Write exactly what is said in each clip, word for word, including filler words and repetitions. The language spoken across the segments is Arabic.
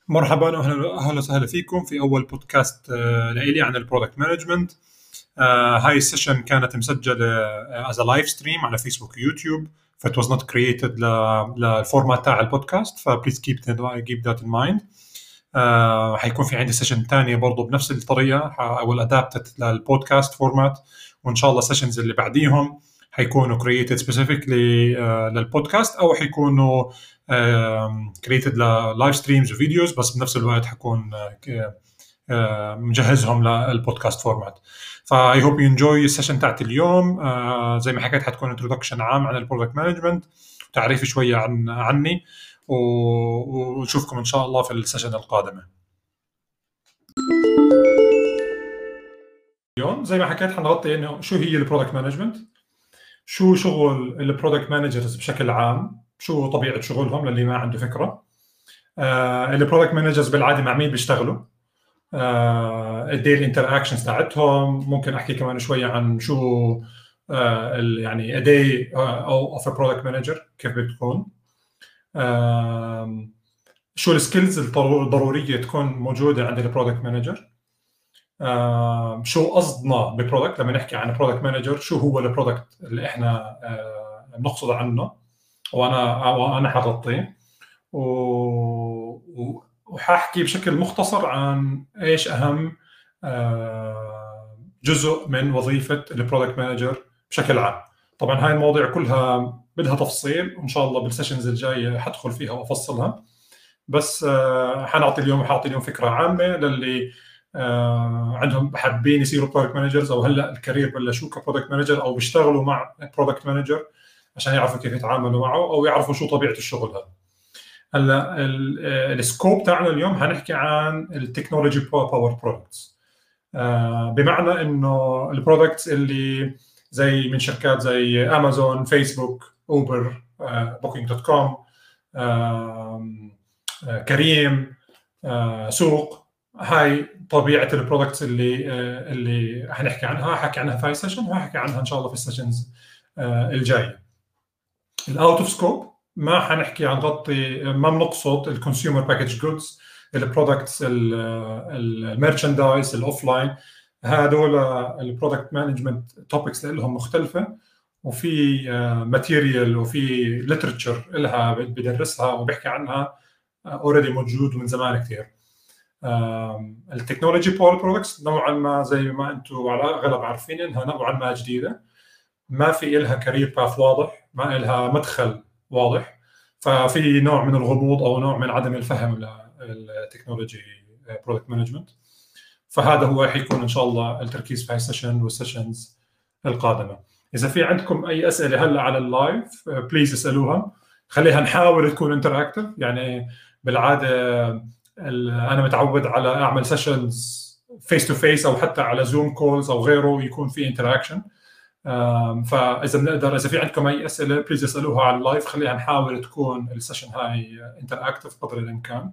مرحبا، اهلا اهلا وسهلا فيكم في اول بودكاست آه، لإلي عن البرودكت مانجمنت. هاي السيشن كانت مسجله از لايف ستريم على فيسبوك ويوتيوب، فit was not created للفورمات تاع البودكاست، فبليز كيب keep that in mind. آه، حيكون في عندي سيشن تانية برضو بنفس الطريقة I will adapt it للبودكاست فورمات، وإن شاء الله سيشنز اللي بعديهم حيكونوا created specifically آه، للبودكاست أو حيكونوا آه، created للايف ستريمز وفيديوز، بس بنفس الوقت حكون آه، آه، مجهزهم للبودكاست فورمات. فا I hope you enjoy السيشن تاعت اليوم. آه، زي ما حكيت حتكون introduction عام عن البرودكت مانجمنت، تعريف شوية عن عني، ونشوفكم إن شاء الله في السيشن القادمة. اليوم زي ما حكيت حنغطي إنه شو هي البرودكت مانجمنت، شو شغل البرودكت مانجرز بشكل عام، شو طبيعة شغلهم للي ما عنده فكرة. آه البرودكت مانجرز بالعادة مع مين بيشتغلوا، آه الديلي انتراكشنز تاعتهم. ممكن أحكي كمان شوية عن شو آه يعني a day of a product manager كيف بتكون، آه شو السكيلز الضروريه تكون موجوده عند البرودكت مانجر، آه شو قصدنا ببرودكت لما نحكي عن برودكت مانجر، شو هو البرودكت اللي احنا آه بنقصد عنه، وانا وانا حغطيه، وحاحكي بشكل مختصر عن ايش اهم آه جزء من وظيفه البرودكت مانجر بشكل عام. طبعا هاي المواضيع كلها بدها تفصيل، وان شاء الله بالسيشنز الجايه حدخل فيها وافصلها، بس آه حنعطي اليوم حاعطي اليوم فكره عامه للي آه عندهم حابين يصيروا برودكت مانجرز، او هلا الكارير بلشوا كبرودكت مانجر او بيشتغلوا مع برودكت مانجر عشان يعرفوا كيف يتعاملوا معه او يعرفوا شو طبيعه الشغل هذا. هلا السكوب تاعنا اليوم هنحكي عن التكنولوجي باور برودكتس، بمعنى انه البرودكتس اللي زي من شركات زي امازون، فيسبوك، اوبر، بوكينج دوت كوم، كريم، سوق. هاي طبيعه البرودكتس اللي اللي حنحكي عنها، حكي عنها في هاي السيشن وحكي عنها ان شاء الله في السيشنز الجايه. الاوت اوف سكوب ما حنحكي عن غطي، ما بنقصد الكونسيومر باكج جودز، البرودكتس، الميرشندايز، الاوفلاين. هذول البرودكت مانجمنت توبكس لهم مختلفه، وفي ماتيريال وفي ليترشر لها بدرسها وبحكي عنها اوريدي موجود من زمان كثير. التكنولوجي باور برودكتس نوعا ما زي ما انتم على الاغلب عارفين انها نوعا ما جديده، ما في لها كارير باث واضح، ما لها مدخل واضح، ففي نوع من الغموض او نوع من عدم الفهم للتكنولوجي برودكت مانجمنت. فهذا هو حيكون ان شاء الله التركيز في هاي السيشن والسيشنز القادمه. اذا في عندكم اي اسئله هلا على اللايف بليز اسالوها، خليها نحاول تكون انتراكتيف. يعني بالعاده انا متعود على اعمل سيشنز فيس تو فيس او حتى على زوم كولز او غيره يكون في انتراكشن، فاذا بنقدر اذا في عندكم اي اسئله بليز اسالوها على اللايف، خليها نحاول تكون السيشن هاي انتراكتيف قدر الامكان.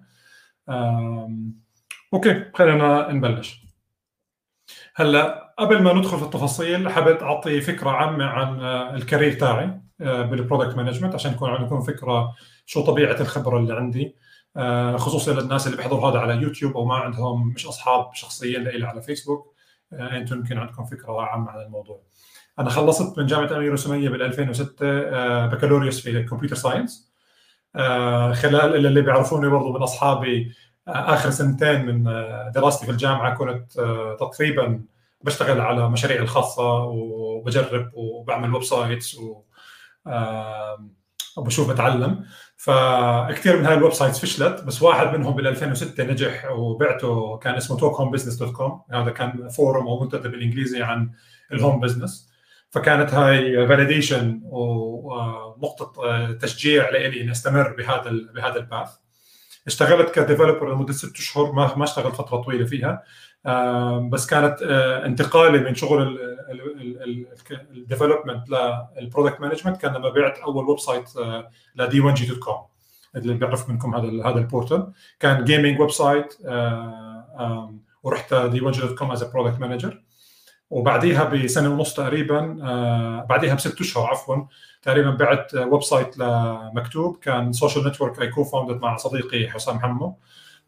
اوكي خلينا نبلش. هلا قبل ما ندخل في التفاصيل حبيت اعطي فكره عامه عن الكارير تاعي بالبرودكت مانجمنت عشان يكون عندكم فكره شو طبيعه الخبره اللي عندي، خصوصا للناس اللي بيحضروا هذا على يوتيوب او ما عندهم مش اصحاب شخصيين لي على فيسبوك. انتم يمكن عندكم فكره عامه عن الموضوع. انا خلصت من جامعه امير وسميه بال ألفين وستة بكالوريوس في الكمبيوتر ساينس. خلال اللي بيعرفوني برضو من اصحابي اخر سنتين من دراستي في الجامعه كنت تقريبا بشتغل على مشاريعي الخاصه وبجرب وبعمل ويب سايتس وبشوف بتعلم. فكثير من هاي الويب سايتس فشلت، بس واحد منهم بال ألفين وستة نجح وبعته، كان اسمه توك هوم بزنس دوت كوم. هذا كان فورم او منتدى بالانجليزي عن الهوم بزنس. فكانت هاي فاليديشن ونقطه تشجيع لي اني استمر بهذا بهذا الباث. اشتغلت كديفلوبر لمده ست اشهر، ما ما اشتغلت فتره طويله فيها، بس كانت انتقالي من شغل الديفلوبمنت للبرودكت مانجمنت كان لما بعت اول ويب سايت لدي ون جي دوت كوم. اللي بيعرف منكم هذا هذا البورتال كان جيمنج ويب سايت، ورحت دي ون جي دوت كوم از برودكت مانجر. وبعديها بسنه ونص تقريبا، آه بعديها بست اشهر عفوا تقريبا بعت ويب سايت لمكتوب، كان سوشيال نتورك اي كو فاوندد مع صديقي حسام حمو.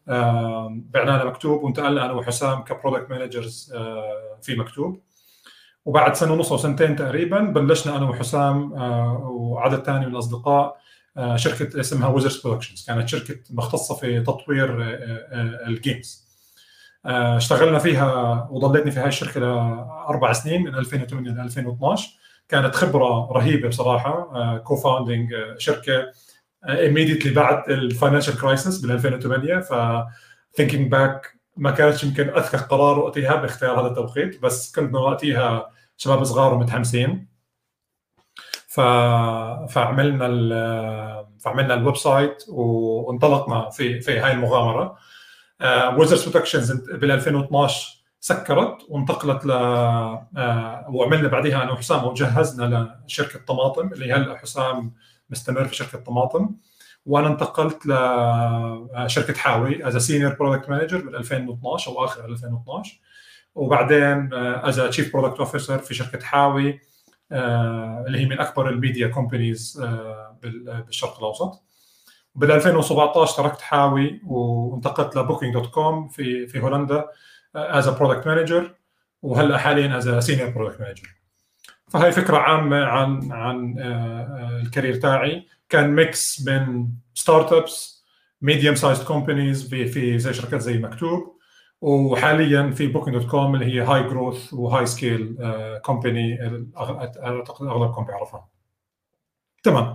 بعنا مكتوب، وانتقلنا انا وحسام كبرودكت مانجرز في مكتوب. وبعد سنه ونص او سنتين تقريبا بلشنا انا وحسام وعدد ثاني من الاصدقاء شركه اسمها ويزرز برودكشنز، كانت شركه مختصه في تطوير الجيمز. اشتغلنا فيها وضليتني في هاي الشركه لاربع سنين من ألفين وثمانية ل ألفين واثناشر. كانت خبره رهيبه بصراحه. كو فاوندينج شركه immediately بعد الفاينانشال كرايسيس بال ألفين وثمانية، ف thinking back ما كانت يمكن اذكى قرار وقتها باختيار هذا التوقيت، بس كنا وقتها شباب صغار ومتحمسين. ف... فعملنا ال... فعملنا الويب سايت وانطلقنا في في هاي المغامره. ويزرز برودكشنز بال ألفين واثناشر سكرت وانتقلت ل uh, وعملنا بعدها انا وحسام وجهزنا لشركه طماطم اللي هلا حسام مستمر في شركه طماطم، وانا انتقلت لشركه حاوي از سينيور برودكت مانجر بال ألفين واثناشر او اخر ألفين واثناشر، وبعدين از تشيف برودكت اوفيسر في شركه حاوي اللي هي من اكبر الميديا كومبانيز بالشرق الاوسط. بال ألفين وسبعطعش تركت حاوي وانتقلت لبوكينج دوت كوم في في هولندا از برودكت مانجر، وهلا حاليا از سينيور برودكت مانجر. فهي فكره عامه عن عن الكارير تاعي. كان ميكس بين ستارت ابس، ميديوم سايزد كومبانيز في في زي شركات زي مكتوب، وحاليا في بوكينج دوت كوم اللي هي هاي جروث وهاي سكيل كومباني اعتقد اغلبكم بيعرفها. تمام.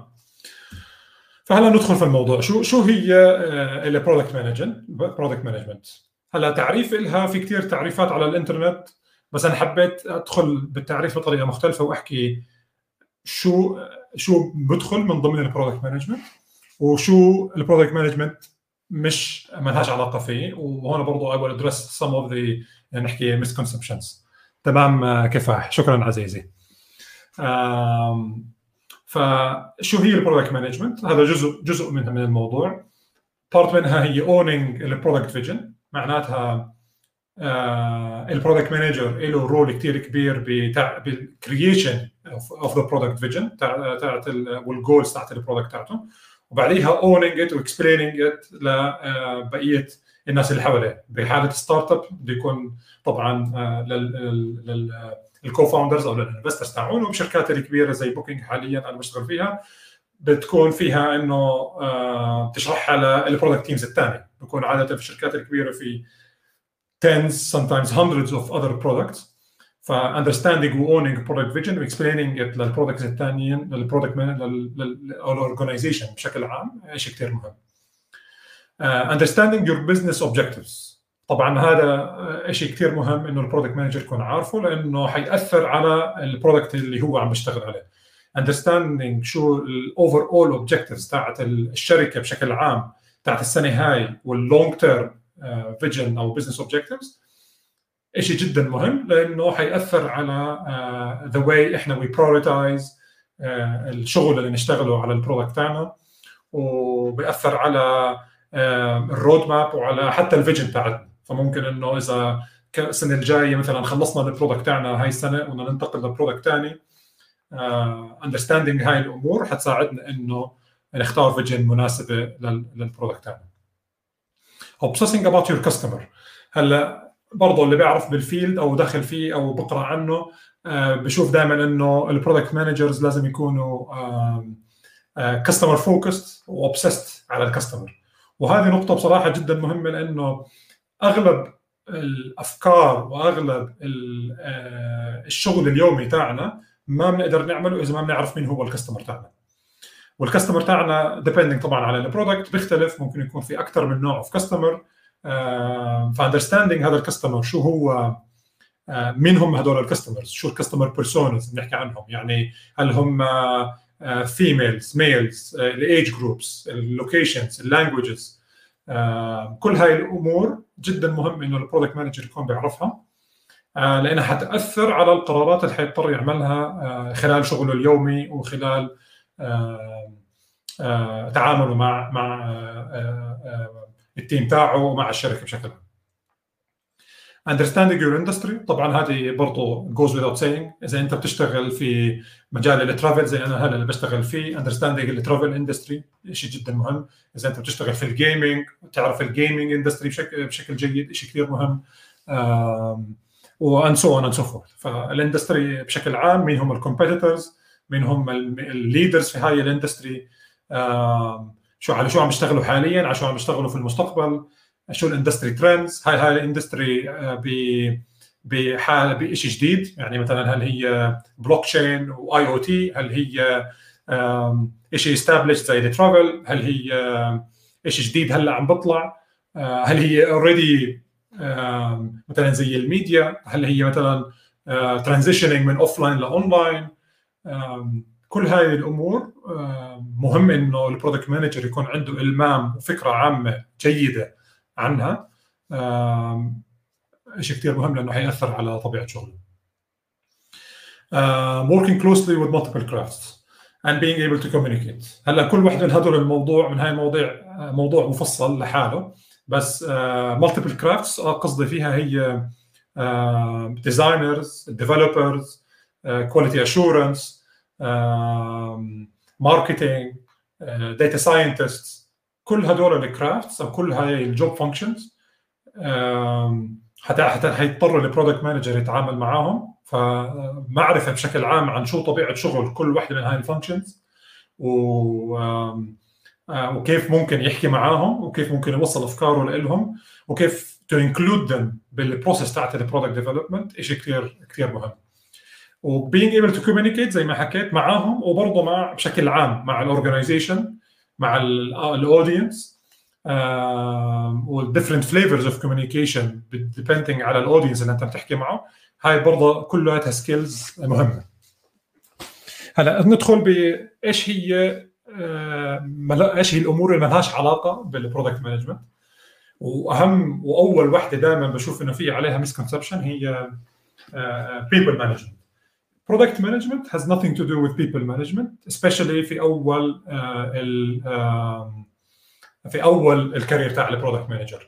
فهلا ندخل في الموضوع. شو شو هي البرودكت مانجمنت؟ برودكت مانجمنت هلا تعريف لها في كثير تعريفات على الانترنت، بس انا حبيت ادخل بالتعريف بطريقه مختلفه واحكي شو شو بدخل من ضمن البرودكت مانجمنت وشو البرودكت مانجمنت مش ما لهاش علاقه فيه. وهون برضه I will address some of the يعني نحكي misconceptions. تمام كفاح. شكرا عزيزي. فشو هي البرودكت مانجمنت؟ هذا جزء جزء منها من الموضوع. بارت منها هي owning البرودكت فيجن، معناتها البرودكت مانجر له رول كثير كبير بالكرييشن اوف ذا برودكت فيجن تاعت والجولز تاعت البرودكت تاعته، وبعديها owning it واكسبلينينج ات لبقيه الناس اللي حواليه. بحاله ستارت اب بده يكون طبعا لل الكو فاوندرز او الانفسترز تاعون، وبشركات الكبيره زي بوكينج حاليا انا بشتغل فيها بتكون فيها انه تشرحها للبرودكت تيمز الثاني. بكون عاده في الشركات الكبيره في tens sometimes hundreds of other products. ف understanding و owning product vision و explaining it للبرودكتس الثانيين للبرودكت للاورجنايزيشن بشكل عام شيء كثير مهم. uh, understanding your business objectives طبعا هذا شيء كثير مهم انه البرودكت مانجر يكون عارفه، لانه حيأثر على البرودكت اللي هو عم بيشتغل عليه. understanding شو الاوفر اول اوبجكتيفز تاعت الشركه بشكل عام تاعت السنه هاي واللونج تيرم فيجن او بزنس اوبجكتيفز شيء جدا مهم، لانه حيأثر على ذا uh, واي احنا وي برايورتايز uh, الشغل اللي نشتغله على البرودكت تاعنا، وبيأثر على uh, الرود ماب وعلى حتى الفيجن تاعتنا. فممكن انه اذا السنه الجايه مثلا خلصنا البرودكت تاعنا هاي السنه وبدنا ننتقل لبرودكت ثاني، اندرستاندينج uh, هاي الامور حتساعدنا انه نختار فيجن مناسبه للبرودكت تاعنا. obsessing about your customer. هلا برضه اللي بيعرف بالفيلد او داخل فيه او بقرا عنه آه بشوف دائما انه البرودكت مانجرز لازم يكونوا كاستمر فوكست وobsessed على الكاستمر، وهذه نقطه بصراحه جدا مهمه، لانه اغلب الافكار واغلب الشغل اليومي تاعنا ما بنقدر نعمله اذا ما بنعرف مين هو الكاستمر تاعنا. والكاستمر تاعنا ديبندينج طبعا على البرودكت بيختلف، ممكن يكون في اكثر من نوع اوف كاستمر. فاندرستاندينج هذا الكاستمر شو هو، uh, مين هم هذول الكاستمرز، شو الكاستمر بيرسونز بنحكي عنهم، يعني هل هم فيميلز ميلز، الايج جروبس، اللوكيشنز، اللانجويجز، كل هاي الامور جدا مهم انه البرودكت مانجر يكون بيعرفها، uh, لانها حتاثر على القرارات اللي حيضطر يعملها uh, خلال شغله اليومي وخلال uh, uh, تعامله مع مع uh, uh, التيم تاعه ومع الشركه بشكل عام. understanding your industry. طبعا هذه برضو goes without saying. اذا انت بتشتغل في مجال الترافل زي انا هلا اللي بشتغل فيه، understanding الترافل اندستري شيء جدا مهم. اذا انت بتشتغل في الجيمنج تعرف الجيمنج اندستري بشكل بشكل جيد، شيء كثير مهم. وان سو اون اند سو فورث. فالاندستري بشكل عام، مين هم الكومبيتيتورز، مين هم الليدرز في هاي الاندستري، شو على شو عم بيشتغلوا حاليا، على شو عم بيشتغلوا في المستقبل، شو الاندستري ترندز. هاي هاي الاندستري ب بحال بشيء جديد، يعني مثلا هل هي بلوك تشين واي او تي، هل هي شيء استابلش زي الترافل، هل هي شيء جديد هلا عم بطلع، هل هي اوريدي مثلا زي الميديا، هل هي مثلا ترانزيشنينج من اوف لاين لاونلاين. كل هاي الامور مهم انه البرودكت مانجر يكون عنده المام وفكره عامه جيده عنها. شيء كثير مهم لانه حيأثر على طبيعه شغله. working closely with multiple crafts and being able to communicate. هلا كل واحد من هذول الموضوع من هاي المواضيع موضوع مفصل لحاله، بس multiple crafts قصدي فيها هي designers, developers, quality assurance, marketing, data scientists. كل هذول الكرافتس او كل هاي الجوب فانكشنز حتى حتى حيضطر البرودكت مانجر يتعامل معاهم. فمعرفه بشكل عام عن شو طبيعه شغل كل واحده من هاي الفانكشنز، و وكيف ممكن يحكي معاهم، وكيف ممكن يوصل افكاره لهم، وكيف تو انكلود ذم بالبروسيس تاعت البرودكت ديفلوبمنت. شيء كثير كثير مهم. وبينج ايبل تو كوميونيكيت زي ما حكيت معاهم، وبرضه مع بشكل عام مع الاورجنايزيشن، مع الاودينس، والديفرنت فليفرز اوف كوميونيكيشن ديبندينج على الاودينس اللي انت بتحكي معه. هاي برضه كلها سكيلز مهمه. هلا ندخل بايش هي ايش هي الامور اللي ما لهاش علاقه بالبرودكت مانجمنت. واهم واول وحده دائما بشوف انه في عليها مسكونسبشن هي people management. Product management has nothing to do with people management, especially في اول ال في اول الكارير تاع البرودكت مانجر.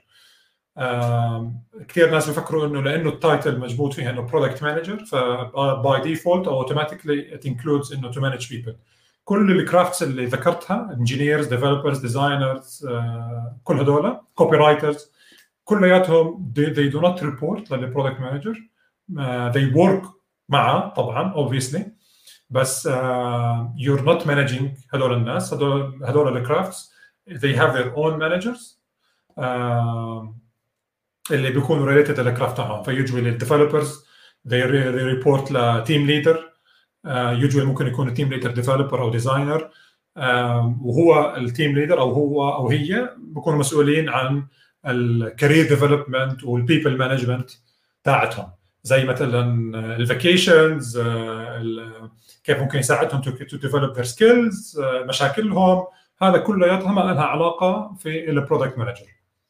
كثير ناس بفكروا انه لانه التايتل مجبوط فيها انه برودكت مانجر فباي ديفولت او اوتوماتيكلي ات انكلودز انه تو مانج بيبل. كل الكرافتس اللي ذكرتها، انجينيرز، ديفلوبرز، ديزاينرز، كل هذول كوبي رايترز، كلياتهم they do not report للبرودكت مانجر. they work معه طبعا obviously، بس uh, you're not managing هذول الناس. هذول هذول الكرافتس they have their own managers uh, اللي بيكونوا related للكرافت تاعهم. فيوجوالي الديفلوبرز they, they report لتيم ليدر. يوجوالي ممكن يكون تيم ليدر ديفلوبر او ديزاينر، uh, وهو التيم ليدر او هو او هي بيكونوا مسؤولين عن الكارير ديفلوبمنت والبيبل مانجمنت تاعتهم، زي مثلا الفاكيشنز، كيف ممكن يساعدهم تو ديفلوب ذير سكيلز، مشاكلهم. هذا كلياتها ما لها علاقه في البرودكت مانجر.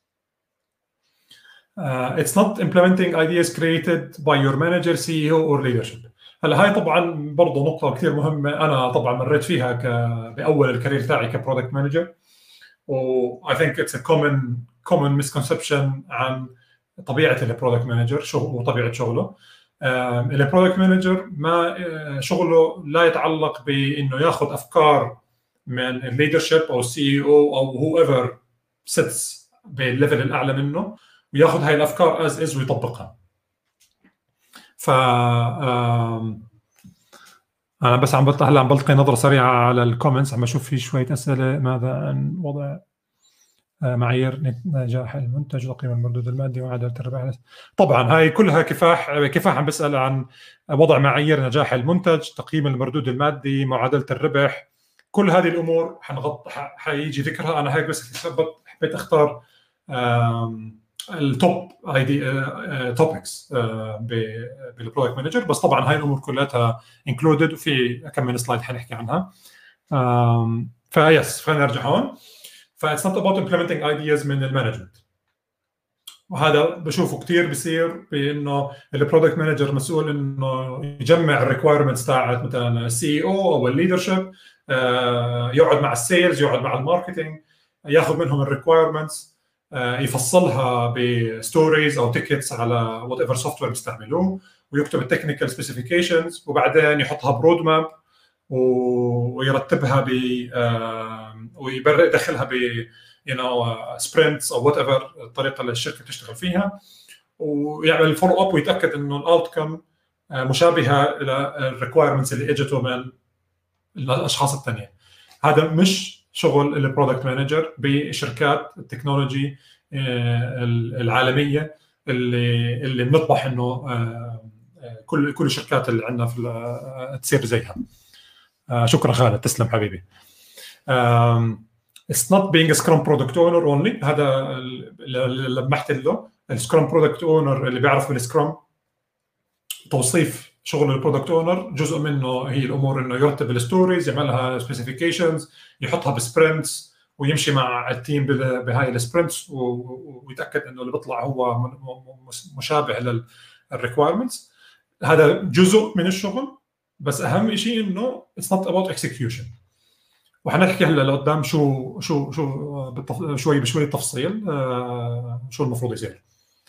It's not implementing ideas created by your manager, سي إي أو or leadership. هلا هاي طبعا برضه نقطه كثير مهمه، انا طبعا مريت فيها ك باول الكارير تاعي كبرودكت مانجر، و I think it's a common common misconception عن طبيعه البرودكت مانجر شو وطبيعه شغله. البرودكت مانجر ما شغله لا يتعلق بانه ياخذ افكار من الليدرشيب او السي اي او او هو ايفر سيتس بالليفل الاعلى منه وياخذ هاي الافكار از از ويطبقها. ف انا بس عم بطلع هلا عم بلقي نظره سريعه على الكومنتس، عم بشوف في شويه اسئله. ماذا عن وضع معايير نجاح المنتج وقيمة المردود المادي وعدالة الربح؟ طبعا هاي كلها كفاح كفاح عم بسأل عن وضع معايير نجاح المنتج، تقييم المردود المادي، معادلة الربح. كل هذه الأمور حنغط حيجي ذكرها. أنا هيك بس حبيت أختار التوب ايدي توبكس بالبرودكت مانجر، بس طبعا هاي الأمور كلها انكلودد وفي كم من سلايد حنحكي عنها. فيس خلينا نرجع هون. ف it's not about implementing ideas من المانجمنت، وهذا بشوفه كثير بصير بانه البرودكت مانجر مسؤول انه يجمع الريكوايرمنتس تاعت مثلا السي او او الليدرشيب، يقعد مع السيلز، يقعد مع الماركتينج، ياخذ منهم الريكوايرمنتس، يفصلها بستوريز او تيكتس على وات ايفر سوفت وير بيستعملوه، ويكتب التكنيكال سبيسيفيكيشنز، وبعدين يحطها برود ماب ويرتبها ب ويدخلها ب يو نو سبرنتس او وات ايفر الطريقه اللي الشركه بتشتغل فيها، ويعمل فولو اب ويتاكد انه الاوتكم مشابهه الى الريكوايرمنتس اللي اجته من الاشخاص الثانيين. هذا مش شغل البرودكت مانجر بشركات التكنولوجي العالميه اللي اللي بنطمح انه كل كل الشركات اللي عندنا في تصير زيها. شكرا خالد، تسلم حبيبي. It's not being a Scrum product owner only. هذا اللي لمحت له. السكرام برودكت اونر اللي بيعرف بالسكرام توصيف شغل البرودكت اونر، جزء منه هي الامور انه يرتب الستوريز، يعملها سبيسيفيكيشنز، يحطها بسبرنتس، ويمشي مع التيم بهاي السبرنتس ويتاكد انه اللي بيطلع هو مشابه للريكوايرمنتس. هذا جزء من الشغل، بس اهم شيء انه it's not about execution. وحنحكي هلا لقدام شو شو شو بالتف... شوي بشوي تفصيل آه شو المفروض يصير.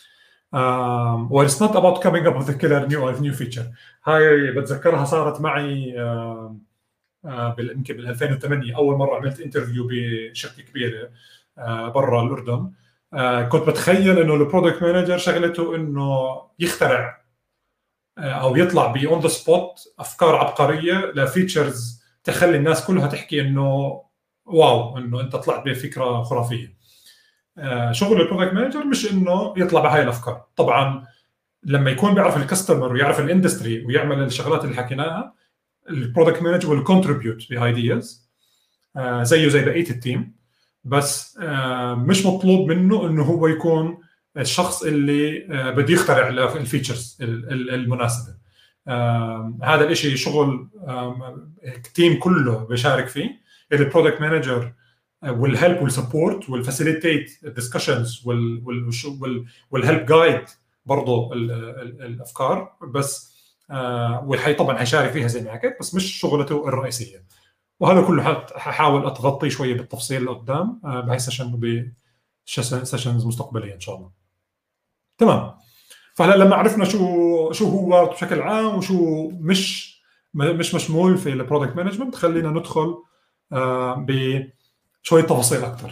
Um, well, it's not about coming up with a killer new or new feature. هاي بتذكرها صارت معي uh, uh, يمكن بال ألفين وثمانية اول مره عملت انترفيو بشركه كبيره uh, برا الاردن. uh, كنت بتخيل انه البرودكت مانجر شغلته انه يخترع uh, او يطلع ب اون ذا سبوت افكار عبقريه لفيتشرز تخلي الناس كلها تحكي انه واو انه انت طلعت بفكره خرافيه. شغل البرودكت مانجر مش انه يطلع بهاي الافكار. طبعا لما يكون بيعرف الكاستمر ويعرف الاندستري ويعمل الشغلات اللي حكيناها، البرودكت مانجر will contribute بايدياز زيه زي بقيه التيم، بس مش مطلوب منه انه هو يكون الشخص اللي بده يخترع الفيتشرز المناسبه. هذا الاشي شغل التيم كله بيشارك فيه. البرودكت مانجر will help will support will facilitate discussions will will will will help guide برضه الافكار، بس آه والحي طبعا هيشارك فيها زي ما حكيت، بس مش شغلته الرئيسيه. وهذا كله ححاول اتغطيه شويه بالتفصيل لقدام آه بهي سيشن بسيشنز مستقبليه ان شاء الله. تمام. فهلا لما عرفنا شو شو هو بشكل عام وشو مش مش مشمول في البرودكت مانجمنت، خلينا ندخل آه ب شويه تفاصيل اكثر.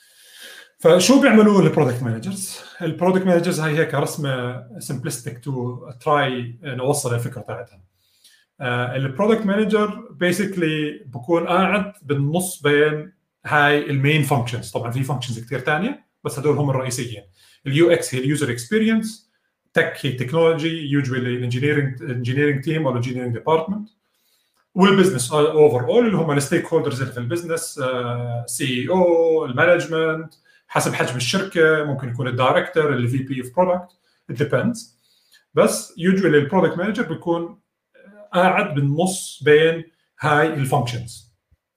فشو بيعملوا البرودكت مانجرز؟ البرودكت مانجرز هي هيك رسمه سمبلستيك تو تراي نوصل الفكره تاعتها. البرودكت مانجر بيسكلي بكون قاعد بالنص بين هاي المين فانكشنز. طبعا في فانكشنز كثير ثانيه بس هدول هم الرئيسيين. اليو اكس هي اليوزر اكسبيرينس، تك هي تكنولوجي يوجوالي الانجينيرنج انجينيرنج تيم او الانجينيرنج ديبارتمنت، والبزنس اوفر اول اللي هم الستيك هولدرز اللي في البزنس، سي اي او، المانجمنت، حسب حجم الشركه ممكن يكون الدايركتور اللي في بي اوف برودكت، ات ديبندز. بس يوجوالي البرودكت مانجر بيكون قاعد بالنص بين هاي الفانكشنز.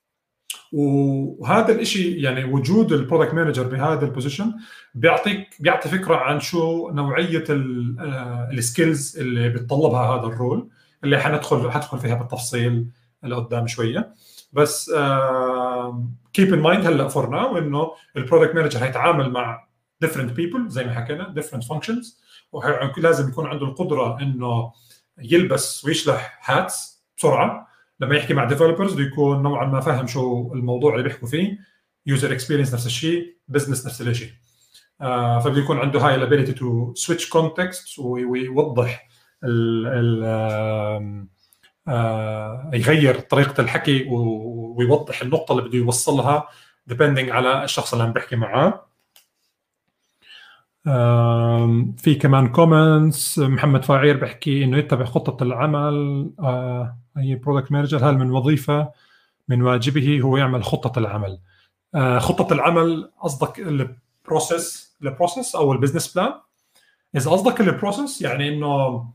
وهذا الشيء يعني وجود البرودكت مانجر بهذا البوزيشن بيعطيك بيعطي فكره عن شو نوعيه السكيلز اللي بتطلبها هذا الرول، اللي حندخل حدخل فيها بالتفصيل لقدام شويه. بس كيب ان مايند هلا فور ناو انه البرودكت مانجر هيتعامل مع different people زي ما حكينا different functions، ولازم يكون عنده القدره انه يلبس ويشلح هاتس بسرعه. لما يحكي مع ديفلوبرز بده يكون نوعا ما فاهم شو الموضوع اللي بيحكوا فيه، يوزر اكسبيرينس نفس الشيء، بزنس نفس الشيء. آه فبده يكون عنده هاي الابيليتي تو سويتش كونتكست ويوضح ال ال آه يغير طريقه الحكي ويوضح النقطه اللي بده يوصلها depending على الشخص اللي عم بحكي معاه. في كمان كومنتس. محمد فاعير بحكي انه يتبع خطه العمل. آه هي برودكت مانجر، هل من وظيفه من واجبه هو يعمل خطه العمل؟ آه خطه العمل قصدك البروسيس البروسيس او البزنس بلان؟ اذا قصدك البروسيس يعني انه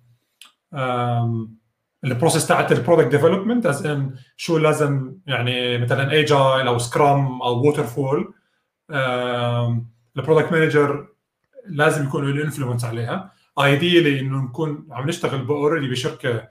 البروسيس تاعت البرودكت ديفلوبمنت از ان شو لازم يعني مثلا ايجايل او سكرام او ووتر فول، البرودكت مانجر لازم يكون له انفلونس عليها. ايديلي انه نكون عم نشتغل اوريدي بشركه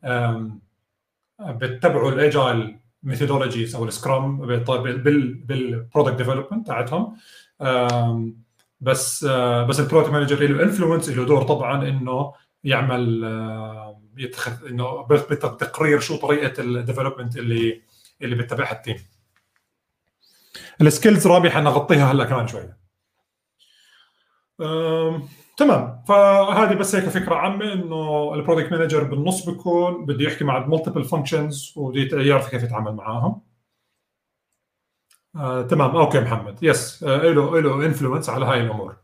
بتتبعوا الايجايل ميثودولوجيز او السكرام بالبرودكت ديفلوبمنت تاعتهم. بس بس البرودكت مانجر له انفلونس، له دور طبعا انه يعمل يتخذ انه بتقرير شو طريقه الديفلوبمنت اللي اللي بيتبعها التيم. السكيلز رابي حنغطيها هلا كمان شويه. تمام، فهذه بس هيك فكره عامه انه البرودكت مانجر بالنص بيكون بده يحكي مع مالتيبل فانكشنز وبده يعرف كيف يتعامل معاهم. آه، تمام، اوكي محمد، يس، آه، له له انفلونس على هاي الامور.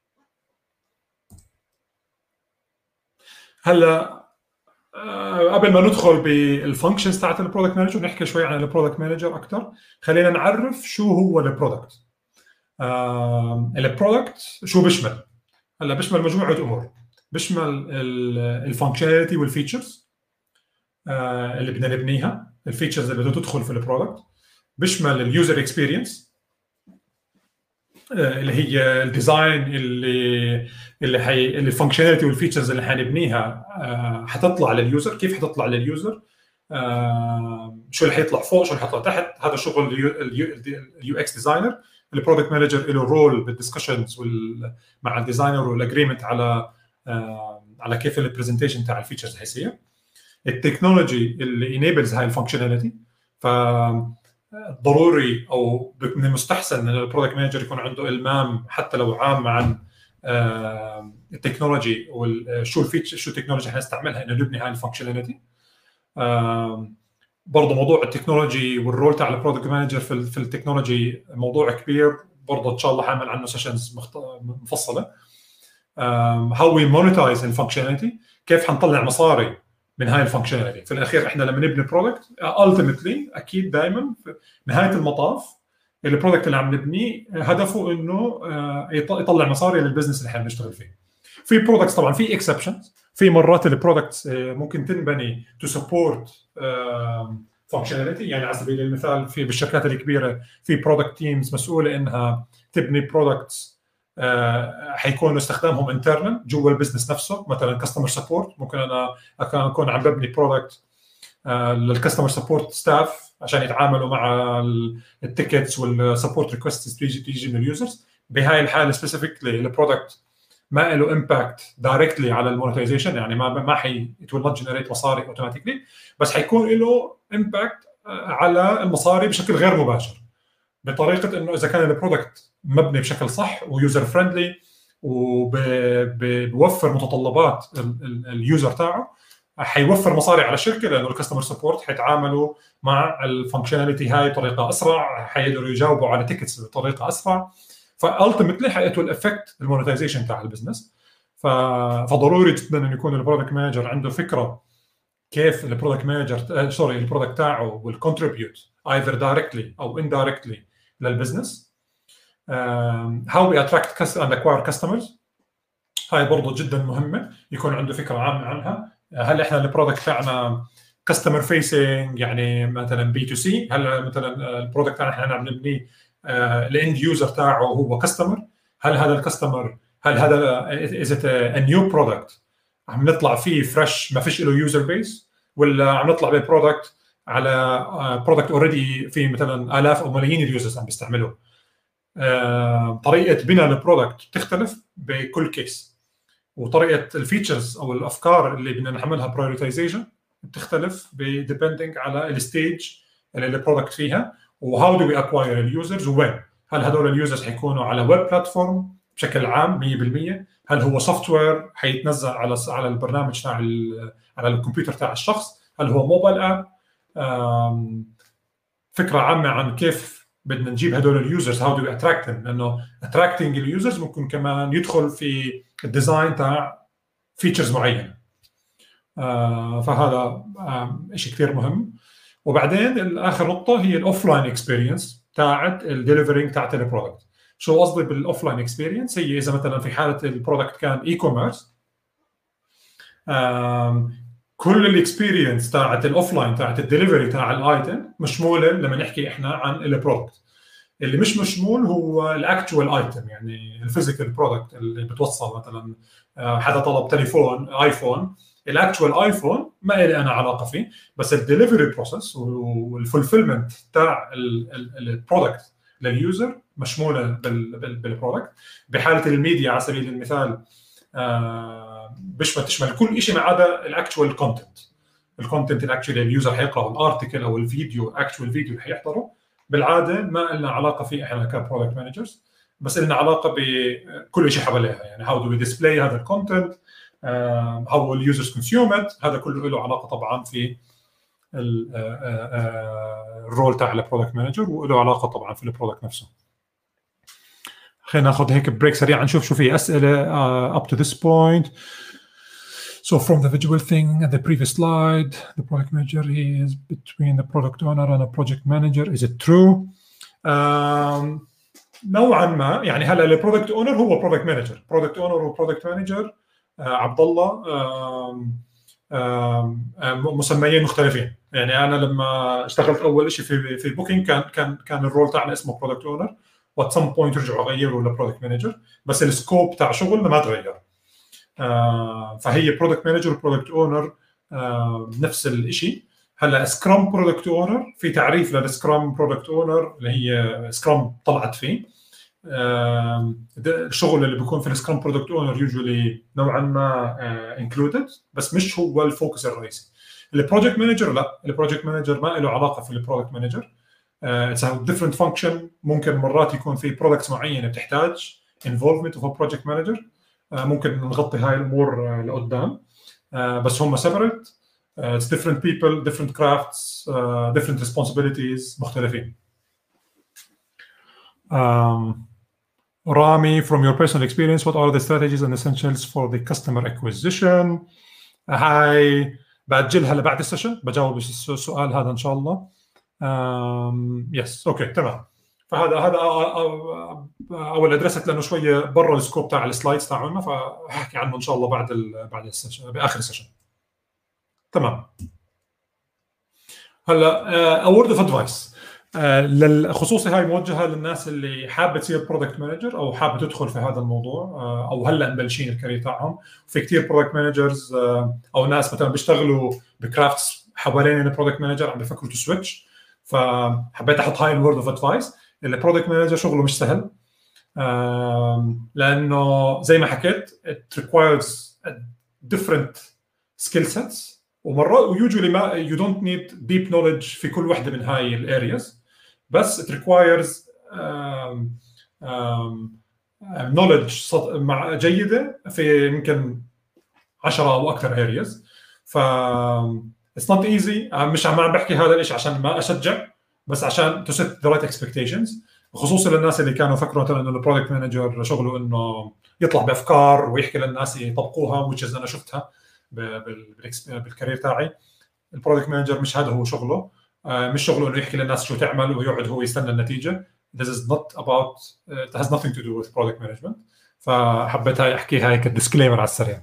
هلا آه، قبل ما ندخل بالفانكشنز تاعت البرودكت مانجر نحكي شوي عن البرودكت مانجر اكثر. خلينا نعرف شو هو البرودكت. آه، البرودكت شو بيشمل؟ هلا بيشمل مجموعه امور. بيشمل الفانكشناليتي والفيتشرز اللي بدنا نبنيها، الفيتشرز اللي بدها تدخل في البرودكت. بيشمل اليوزر اكسبيرينس اللي هي الديزاين اللي اللي حي اللي الفانكشناليتي والفيتشرز اللي حنبنيها آه، حتطلع لليوزر. كيف حتطلع لليوزر؟ آه، شو اللي حيطلع فوق، شو اللي حيطلع تحت. هذا شغل اليو اكس ديزاينر. البرودكت مانجر له رول بالدسكشنز مع الديزاينر والاجريمنت على آه، على كيف البرزنتيشن تاع الفيتشرز حيصير. التكنولوجي اللي انيبلز هاي الفانكشناليتي. ف ضروري او من المستحسن ان البرودكت مانجر يكون عنده المام حتى لو عام عن التكنولوجي وشو الفيتشر، شو التكنولوجي حنستعملها انه نبني هاي الفانكشناليتي. برضه موضوع التكنولوجي والرول تاع البرودكت مانجر في في التكنولوجي موضوع كبير برضه، ان شاء الله حاعمل عنه سيشنز مفصله. هاو وي مونيتايز الفانكشناليتي، كيف حنطلع مصاري من هاي الفانكشناليتي. في الاخير احنا لما نبني برودكت التيمتلي اكيد دائما في نهايه المطاف البرودكت اللي عم نبنيه هدفه انه يطلع مصاري للبزنس اللي احنا بنشتغل فيه. في برودكتس طبعا في اكسبشنز، في مرات البرودكتس ممكن تنبني تو سبورت فانكشناليتي. يعني على سبيل المثال في بالشركات الكبيره في برودكت تيمز مسؤوله انها تبني برودكتس حيكونوا استخدامهم انترنال جوا البزنس نفسه. مثلا كاستمر سبورت، ممكن انا اكون عم ببني برودكت للكاستمر سبورت ستاف عشان يتعاملوا مع التيكتس والسبورت ريكوست تيجي تيجي من اليوزرز. بهاي الحاله سبيسيفيكلي البرودكت ما له امباكت دايركتلي على المونيتايزيشن، يعني ما ما حي ات ويل نوت جنريت مصاري اوتوماتيكلي، بس حيكون له امباكت على المصاري بشكل غير مباشر، بطريقه انه اذا كان البرودكت مبني بشكل صح ويوزر فريندلي وبوفر متطلبات اليوزر تاعه، حيوفر مصاري على الشركه لانه الكاستمر سبورت حيتعاملوا مع الفانكشناليتي هاي بطريقه اسرع، حيقدروا يجاوبوا على تيكتس بطريقه اسرع. فالتيمتلي حيأتوا الافكت المونيتايزيشن تاع البزنس. فضروري جدا انه يكون البرودكت مانجر عنده فكره كيف البرودكت مانجر سوري البرودكت تاعه will contribute either directly او indirectly للبزنس. um, how we attract and acquire customers، هاي برضه جدا مهمه يكون عنده فكره عامه عنها. هل احنا البرودكت تاعنا كاستمر فيسنج يعني مثلا بي تو سي؟ هل مثلا البرودكت تاعنا احنا عم نبنيه الاند يوزر تاعه هو كاستمر؟ هل هذا الكاستمر هل هذا از ات ا نيو برودكت عم نطلع فيه فريش ما فيش له يوزر بيس، ولا عم نطلع ببرودكت على برودكت اوريدي في مثلا الاف او ملايين اليوزرز عم بيستعملوه؟ طريقه بناء البرودكت بتختلف بكل كيس، وطريقه الفيتشرز او الافكار اللي بدنا نعملها برايورتيزيشن بتختلف بديبندنج على الستيج اللي البرودكت فيها. وهاو دو وي اكواير اليوزرز وين؟ هل هدول اليوزرز حيكونوا على ويب بلاتفورم بشكل عام مية بالمية؟ هل هو سوفت وير حيتنزل على على البرنامج تاع على الكمبيوتر تاع الشخص؟ هل هو موبايل اب؟ فكره عامه عن كيف بدنا نجيب هدول اليوزرز، هاو دو وي اتراكت ذم، لانه اتراكتنج اليوزرز ممكن كمان يدخل في الديزاين تاع فيتشرز معينه. آه فهذا آه شيء كثير مهم. وبعدين اخر نقطه هي الاوف لاين اكسبيرينس تاعت الدليفرينج تاعت البرودكت. شو قصدي بالاوف لاين اكسبيرينس؟ هي اذا مثلا في حاله البرودكت كان اي كوميرس، كل الاكسبيرينس تاعت الاوف لاين تاعت الدليفري تاع الايتم مشموله لما نحكي احنا عن البرودكت. اللي مش مشمول هو الاكتوال ايتم، يعني الفيزيكال برودكت اللي بتوصل مثلا حدا طلب تليفون ايفون، الاكتوال ايفون ما لي انا علاقه فيه، بس الدليفري بروسيس والفولفيلمنت تاع البرودكت لليوزر مشموله بالبرودكت. بحاله الميديا على سبيل المثال بيشمل تشمل كل شيء ما عدا الاكتوال كونتنت. الكونتنت الاكشولي اليوزر حيقراه، الارتكل او الفيديو اكتوال فيديو اللي حيحضره، بالعاده ما لنا علاقه فيه احنا كبرودكت مانجرز، بس لنا علاقه بكل شيء حواليها. يعني هاو دو وي ديسبلاي هذا الكونتنت، هاو اليوزرز كونسيوم ات، هذا كله له علاقه طبعا في الرول تاع البرودكت مانجر، وله علاقه طبعا في البرودكت نفسه. خلينا ناخذ هيك بريك سريع نشوف شو في اسئله uh, up to this point. So from the visual thing at the previous slide, the product manager is between the product owner and a project manager. Is it true? Um, نوعا ما. يعني هلا البرودكت اونر هو برودكت مانجر، برودكت اونر وبرودكت مانجر عبد الله مسميين مختلفين. يعني انا لما اشتغلت اول شيء في في بوكينج كان كان كان الرول تاعنا اسمه برودكت اونر، وات سم بوينت رجعوا غيروا لبرودكت مانجر، بس السكوب تاع شغلنا ما تغير. آه فهي برودكت مانجر وبرودكت اونر آه نفس الشيء. هلا سكرام برودكت اونر، في تعريف للسكرام برودكت اونر اللي هي سكرام طلعت فيه. آه الشغل اللي بيكون في السكرام برودكت اونر يوجولي نوعا ما انكلودد، بس مش هو الفوكس الرئيسي. البروجكت مانجر لا، البروجكت مانجر ما له علاقه في البرودكت مانجر. اتس ا ديفرنت فانكشن. ممكن مرات يكون في برودكتس معينه بتحتاج انفولفمنت اوف بروجكت مانجر، ممكن نغطي هاي الامور لقدام، بس هم سيبريت. اتس ديفرنت بيبل، ديفرنت كرافتس، ديفرنت ريسبونسبيلتيز، مختلفين. um, رامي, from your personal experience, what are the strategies and essentials for the customer acquisition? هاي بأجلها لبعد السيشن، بجاوب السؤال هذا إن شاء الله. يس اوكي تمام. فهذا هذا اول ادرست لانه شويه برا السكوب تاع السلايدز تاعنا، فاحكي عنه ان شاء الله بعد ال بعد السيشن، باخر السيشن. تمام. هلا اورد اوف ادفايس، خصوصي هاي موجهه للناس اللي حابه تصير برودكت مانجر او حابه تدخل في هذا الموضوع، او هلا مبلشين الكارير تاعهم. في كثير برودكت مانجرز او ناس مثلا بيشتغلوا بكرافتس حوالين البرودكت مانجر عم بيفكروا تسويتش، فحبيت احط هاي الورد اوف ادفايس. البرودكت مانجر شغله مش سهل، لانه زي ما حكيت it requires different skill sets، ومرات ويوجولي ما you don't need deep knowledge في كل واحده من هاي الارياز، بس it requires um, um, knowledge مع جيده في يمكن عشرة او اكثر areas. ف it's not easy. مش عم بحكي هذا الشيء عشان ما اشجع، بس عشان to set the right expectations، خصوصا للناس اللي كانوا فكروا مثلا انه البرودكت مانجر شغله انه يطلع بافكار ويحكي للناس يطبقوها، which انا شفتها بالكارير تاعي. البرودكت مانجر مش هذا هو شغله، مش شغله انه يحكي للناس شو تعمل ويقعد هو يستنى النتيجه. This is not about it has nothing to do with product management. فحبيت هاي احكي هاي كديسكليمر على السريع.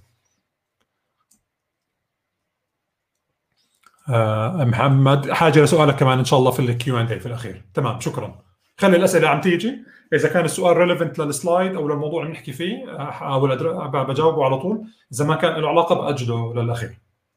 آه محمد، حاجه لسؤالك كمان ان شاء الله في الكيو اند اي في الاخير. تمام شكرا. خلي الاسئله عم تيجي، اذا كان السؤال ريليفنت للسلايد او للموضوع اللي نحكي فيه احاول بجاوبه على طول، اذا ما كان له علاقه باجله للاخير.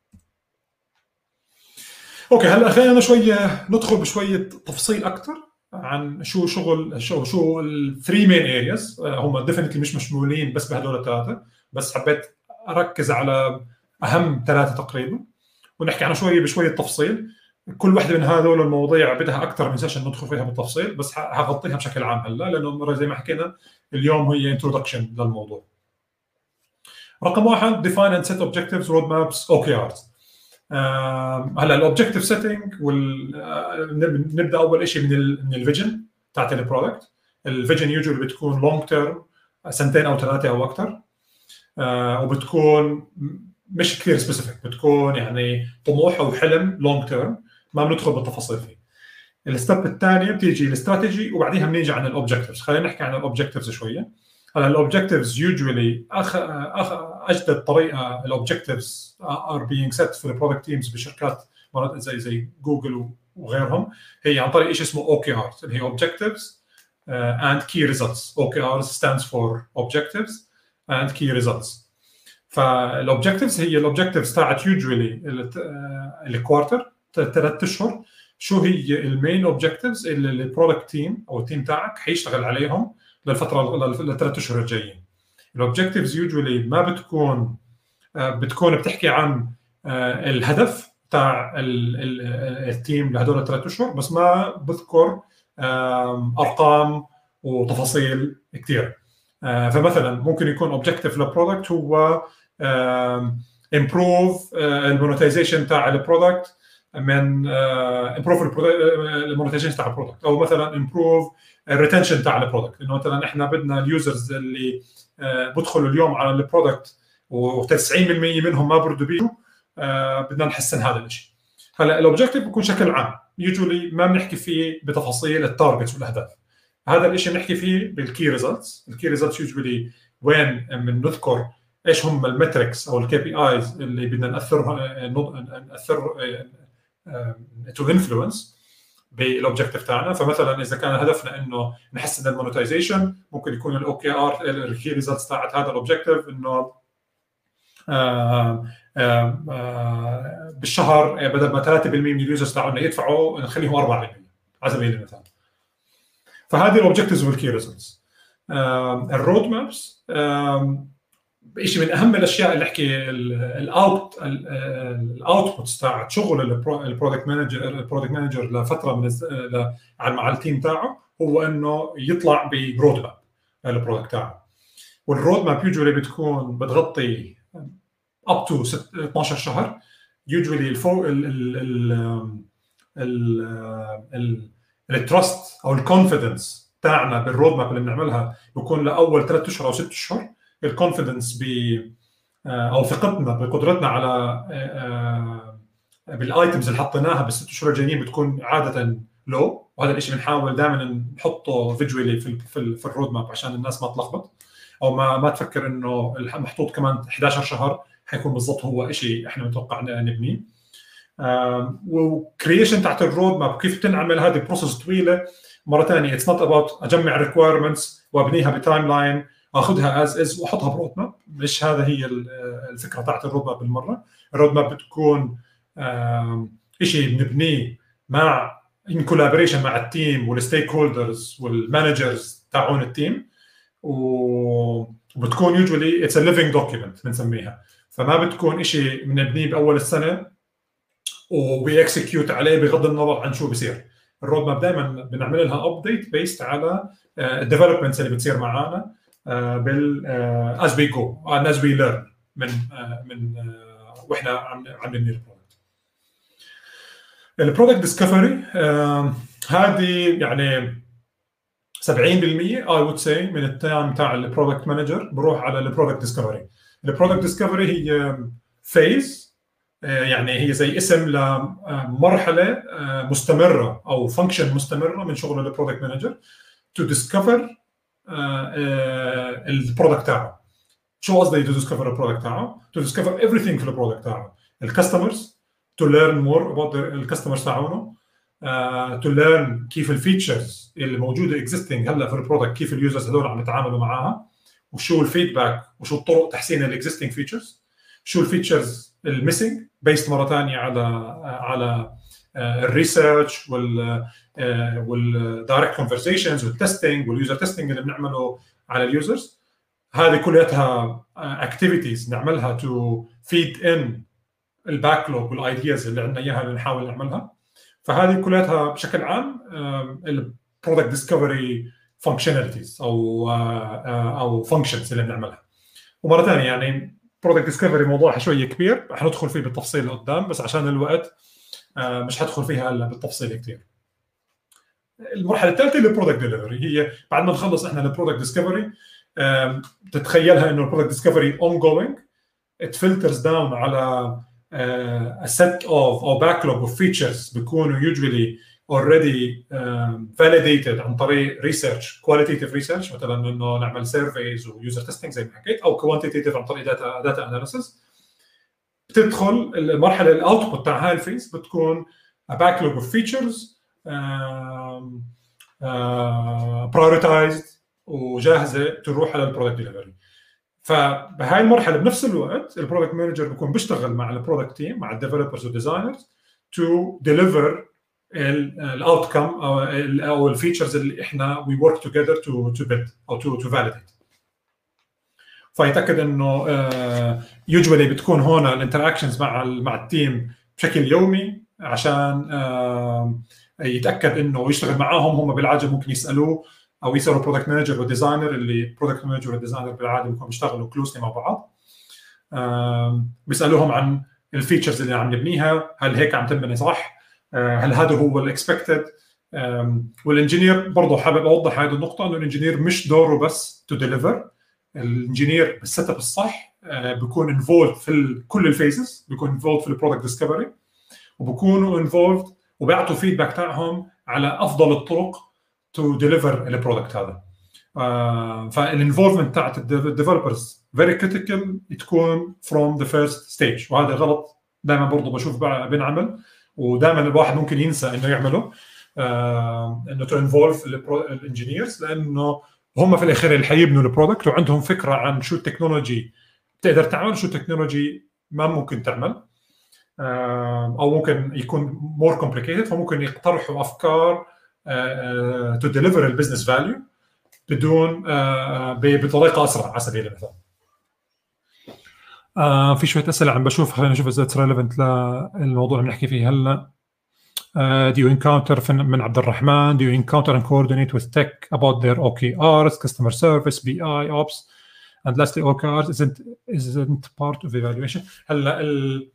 اوكي هلا خلينا شويه ندخل بشويه تفصيل اكثر عن شو شغل شو شو الثري مين ارياز. هم ديفينتلي مش مشمولين بس بهدول الثلاثه، بس حبيت اركز على اهم ثلاثه تقريبا ونحكي عنها شويه بشويه تفصيل. كل واحده من هذول المواضيع بدها اكثر من سيشن ندخل فيها بالتفصيل، بس هغطيها بشكل عام هلا، لانه زي ما حكينا اليوم هي انترودكشن للموضوع. رقم واحد define and set objectives road maps O K Rs. هلا الاوبجكتيف سيتنج وال نبدا اول شيء من ال من الفيجن تاعت البرودكت. الفيجن يوجوالي بتكون لونج تيرم، سنتين او ثلاثه او اكثر، وبتكون مش كثير سبيسيفيك، بتكون يعني طموح او حلم لونج تيرم، ما بندخل بالتفاصيل فيه. الستيب الثانيه بتيجي الاستراتيجي، وبعديها بنيجي عن الاوبجكتيفز. خلينا نحكي عن الاوبجكتيفز شويه. هلا الاوبجكتيفز يوجوالي اخ اخ اجدد طريقه الاوبجكتيفز ار بينج سيت في البرودكت تيمز بشركات مرات زي زي جوجل وغيرهم، هي عن طريق شيء اسمه او كي ارز اللي هي اوبجكتيفز اند كي ريزلتس. او كي ارز ستاندز فور اوبجكتيفز اند كي ريزلتس. فالاوبجكتيفز هي الاوبجكتيفز تاعت يوجوالي الكوارتر ثلاث اشهر، شو هي المين اوبجكتيفز اللي البرودكت تيم او التيم تاعك حيشتغل عليهم للفتره للثلاث اشهر الجايين. الاوبجكتيفز يوجولي ما بتكون بتكون بتحكي عن الهدف تاع التيم لهدول الثلاث اشهر، بس ما بذكر ارقام وتفاصيل كثير. فمثلا ممكن يكون اوبجكتيف للبرودكت هو امبروف المونتايزيشن تاع البرودكت من امبروف المونتايزيشن تاع البرودكت، او مثلا امبروف الريتنشن تاع البرودكت، انه مثلا احنا بدنا اليوزرز اللي بدخلوا اليوم على البرودكت و90% منهم ما بردوا بيه، بدنا نحسن هذا الشيء. هلا الاوبجكتيف بيكون شكل عام، يوجولي ما بنحكي فيه بتفاصيل التارجتس والاهداف. هذا الشيء بنحكي فيه بالكي ريزلتس. الكي ريزلتس يوجولي وين بنذكر ايش هم المتركس او الكي بي ايز اللي بدنا ناثرها ناثر تو انفلونس بالاوبجكتيف تاعنا. فمثلا اذا كان هدفنا انه نحسن المونتايزيشن، ممكن يكون الاو كي ار الكي ريزلتس تاعت هذا الاوبجكتيف انه آه آه آه بالشهر بدل ما ثلاثة بالمئة من اليوزرز تاعنا يدفعوا نخليهم أربعة بالمئة على سبيل المثال. فهذه الاوبجكتيفز والكي ريزلتس. الرود مابس شيء من اهم الاشياء اللي احكي الاوت الاوتبوتس تاعت شغل البرودكت مانجر البرودكت مانجر لفتره من مع التيم تاعه، هو انه يطلع برود ماب للبرودكت تاعه. والرود ماب يوجولي بتكون بتغطي اب تو اثناشر شهر. يوجولي الفوق التراست او الكونفيدنس تاعنا بالرود ماب اللي بنعملها بيكون لاول ثلاث اشهر او ست اشهر. الكونفيدنس ب او ثقتنا بقدرتنا على بالايتمز اللي حطيناها بالست اشهر الجايين بتكون عاده لو، وهذا الشيء بنحاول دائما نحطه فيجوالي في في, في الرود ماب عشان الناس ما تلخبط او ما ما تفكر انه محطوط كمان احد عشر شهر حيكون بالضبط هو شيء احنا متوقع نبنيه. وكرييشن تحت الرود ماب كيف تنعمل، هذه بروسس طويله. مره ثانيه اتس نوت اباوت اجمع ريكويرمنتس وابنيها بتايم لاين اخذها از از واحطها برود ماب، مش هذا هي الفكره تاعت الرود ماب بالمره. الرود ماب بتكون شيء بنبنيه مع ان كولابوريشن مع التيم والستيك هولدرز والمانجرز تاعون التيم، وبتكون يوجولي اتس ا ليفينج دوكيمنت بنسميها. فما بتكون شيء بنبنيه باول السنه وبيكسكيوت عليه بغض النظر عن شو بيصير. الرود ماب دائما بنعمل لها ابديت بيست على الديفلوبمنتس اللي بتصير معانا بال از وي جو and as we learn من من واحنا عم عم نبني البرودكت. البرودكت ديسكفري هذه يعني سبعين بالمئة I would say من التايم تاع البرودكت مانجر بروح على البرودكت ديسكفري. البرودكت ديسكفري هي فيز، يعني هي زي اسم لمرحله مستمره او فانكشن مستمره من شغل البرودكت مانجر to discover البرودكت تاعه. شو قصدي to discover البرودكت تاعه؟ to discover everything في البرودكت تاعه. الكاستمرز to learn more about الكاستمرز تاعونه، uh, to learn كيف الفيتشرز اللي موجوده existing هلا في البرودكت، كيف اليوزرز هذول عم يتعاملوا معاها، وشو الفيدباك وشو الطرق تحسين الاكزيستنج فيتشرز، شو الفيتشرز الميسنج بيست مره ثانيه على على الريسيرش وال والدايركت كونفرسيشنز والتستنج واليوزر تستنج اللي بنعمله على اليوزرز. هذه كلها اكتيفيتيز نعملها تو فيد ان الباكلوج والايدياز اللي عندنا اياها اللي نحاول نعملها. فهذه كلها بشكل عام البرودكت ديسكفري فانكشناليتيز او او فانكشنز اللي بنعملها. ومره ثانيه يعني برودكت ديسكفري موضوع شويه كبير، رح ندخل فيه بالتفصيل قدام، بس عشان الوقت مش هدخل فيها هلا بالتفصيل كثير. المرحله الثالثه اللي البرودكت ديليفري، هي بعد ما نخلص احنا البرودكت ديسكفري تتخيلها انه البرودكت ديسكفري اون جوينج، ات فلترز داون على a set of or backlog of features بيكونوا usually already um, validated عن طريق research qualitative research، مثلا انه نعمل surveys و user testing زي ما حكيت، او quantitative عن طريق data data analysis. بتدخل المرحله الاوتبوت تاع هاي الفيز بتكون a backlog of features um, uh, prioritized وجاهزه تروح على البرودكت ديليفري. فبهاي المرحله بنفس الوقت البرودكت مانجر بيكون بيشتغل مع البرودكت تيم مع الديفلوبرز والديزاينرز تو ديليفر الاوتكم او او الفيتشرز اللي احنا وي ورك توجذر تو تو بيلد او تو تو فاليديت. فيتاكد انه يوجوالي بتكون هون الانتراكشنز مع مع التيم بشكل يومي عشان يتاكد انه يشتغل معاهم. هم بالعاده ممكن يسالوه او يسالوا برودكت مانجر والديزاينر، اللي برودكت مانجر والديزاينر بالعاده بيكونوا بيشتغلوا كلوسلي مع بعض. بيسالوهم عن الفيتشرز اللي عم نبنيها، هل هيك عم تنبني صح، هل هذا هو الاكسبكتد. والانجينير برضه حابب اوضح هذه النقطه، انه الانجينير مش دوره بس تو ديليفر. الانجينير بالسيت اب الصح بيكون انفولد في كل الفيزز، بيكون انفولد في البرودكت ديسكفري، وبكونوا انفولد وبيعطوا فيدباك تاعهم على افضل الطرق تو ديليفر البرودكت هذا. فالانفولفمنت تاعت الديفلوبرز فيري كريتيكال تكون فروم ذا فيرست ستيج، وهذا غلط دائما برضه بشوف بنعمل، ودائما الواحد ممكن ينسى انه يعمله، انه تو انفولف الانجينيرز، لانه هم في الاخير اللي حيبنوا البرودكت وعندهم فكره عن شو التكنولوجي بتقدر تعمل، شو التكنولوجي ما ممكن تعمل، او ممكن يكون مور كومبليكيتد، فممكن يقترحوا افكار تو ديليفر البزنس فاليو بدون بطريقه اسرع على سبيل المثال. آه في شويه اسئله عم بشوف، خلينا نشوف اذا اتس ريليفنت للموضوع اللي بنحكي فيه هلا. Uh, do you encounter من عبد الرحمن do you encounter and coordinate with tech about their O K Rs, customer service, B I, ops, and lastly O K Rs isn't isn't part of evaluation. هلا ال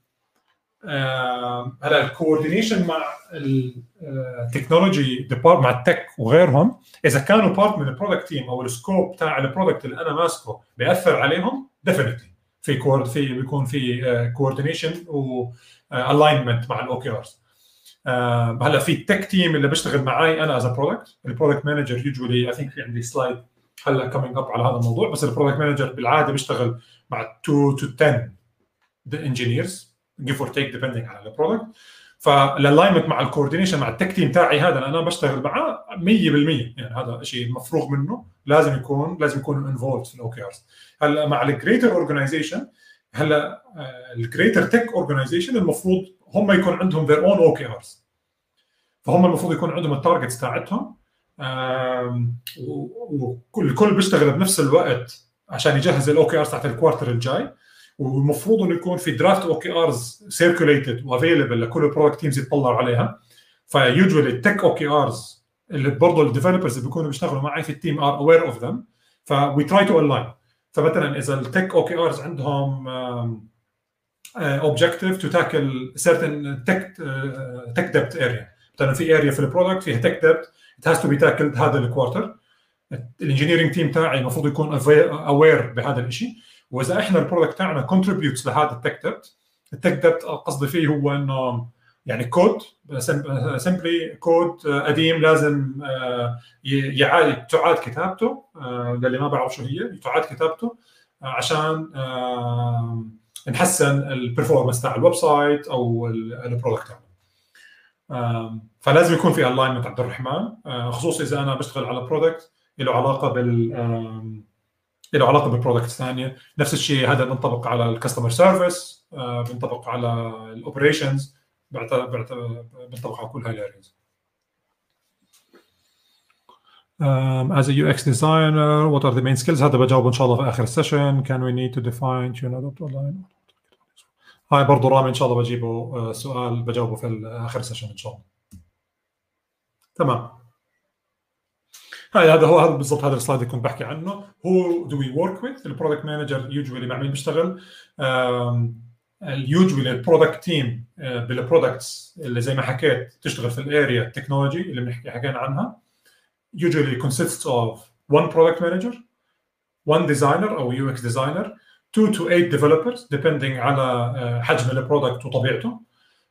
هلا الكوردينيشن مع التكنولوجي ديبارت مع التك وغيرهم، اذا كانوا بارت من البرودكت تيم او السكوب تاع البرودكت اللي انا ماسكه بياثر عليهم، ديفينتلي في كورد في بيكون في كوردينيشن و الاينمنت مع الاو كي ارز. آه هلا في التك تيم اللي بيشتغل معي انا از برودكت، البرودكت مانجر يوجوالي اي ثينك في عندي سلايد هلا كومينج اب على هذا الموضوع، بس البرودكت مانجر بالعاده بيشتغل مع اثنين to عشرة انجينيرز give or take depending على البرودكت. فالالاينمنت مع الكوردينيشن مع التك تيم تاعي هذا انا بشتغل معاه مية بالمية، يعني هذا شيء مفروغ منه، لازم يكون لازم يكون انفولد في الاو كي ارز. هلا مع الجريتر اورجانيزيشن، هلا الجريتر تك اورجانيزيشن المفروض هم يكون عندهم their own او كي ارز، فهم المفروض يكون عندهم التارجتس تاعتهم، وكل الكل بيشتغل بنفس الوقت عشان يجهز الاو كي ارز تاعت الكوارتر الجاي، والمفروض انه يكون في درافت او كي ارز سيركوليتد وافيلبل لكل البرودكت تيمز يطلعوا عليها. فيوجوالي التك او كي ارز اللي برضه الديفلوبرز اللي بيكونوا بيشتغلوا معي في التيم ار اوير اوف ذم، فوي تراي تو الاين. فمثلا اذا التك او كي ارز عندهم اوبجكتيف تو تاكل سيرتن تك تك ديبت اريا، مثلا في اريا في البرودكت فيها تك ديبت ات هاز تو بي تاكلد هذا الكوارتر، الانجينيرنج تيم تاعي المفروض يكون اوير بهذا الشيء. واذا احنا البرودكت تاعنا كونتريبيوتس لهذا التك ديبت، التك ديبت قصدي فيه هو انه يعني كود سمبلي كود قديم لازم يعاد تعاد كتابته، للي ما بعرف شو هي تعاد كتابته عشان نحسن البرفورمانس تاع الويب سايت او البرودكت تاعنا. فلازم يكون في الاينمنت عبد الرحمن، خصوصا اذا انا بشتغل على برودكت له علاقه بال له علاقه بالبرودكت ثانيه. نفس الشيء هذا بينطبق على الكاستمر سيرفيس، بينطبق على الاوبريشنز، بينطبق على كل هاي الارياز. Um, as a U X designer, what are the main skills؟ هذا بجاوب ان شاء الله في اخر السيشن. Can we need to define tune adopt online؟ هاي برضه رامي ان شاء الله بجيبه سؤال بجاوبه في اخر السيشن ان شاء الله. تمام. هاي هذا هو هذا بالضبط هذا السلايد اللي كنت بحكي عنه. Who do we work with؟ البرودكت مانجر يوجوالي مع مين بيشتغل؟ اليوجوالي البرودكت تيم بالبرودكتس اللي زي ما حكيت تشتغل في الاريا التكنولوجي اللي بنحكي حكينا عنها. Usually consists of one product manager, one designer أو U X designer, two to eight developers depending على حجم البرودكت وطبيعته.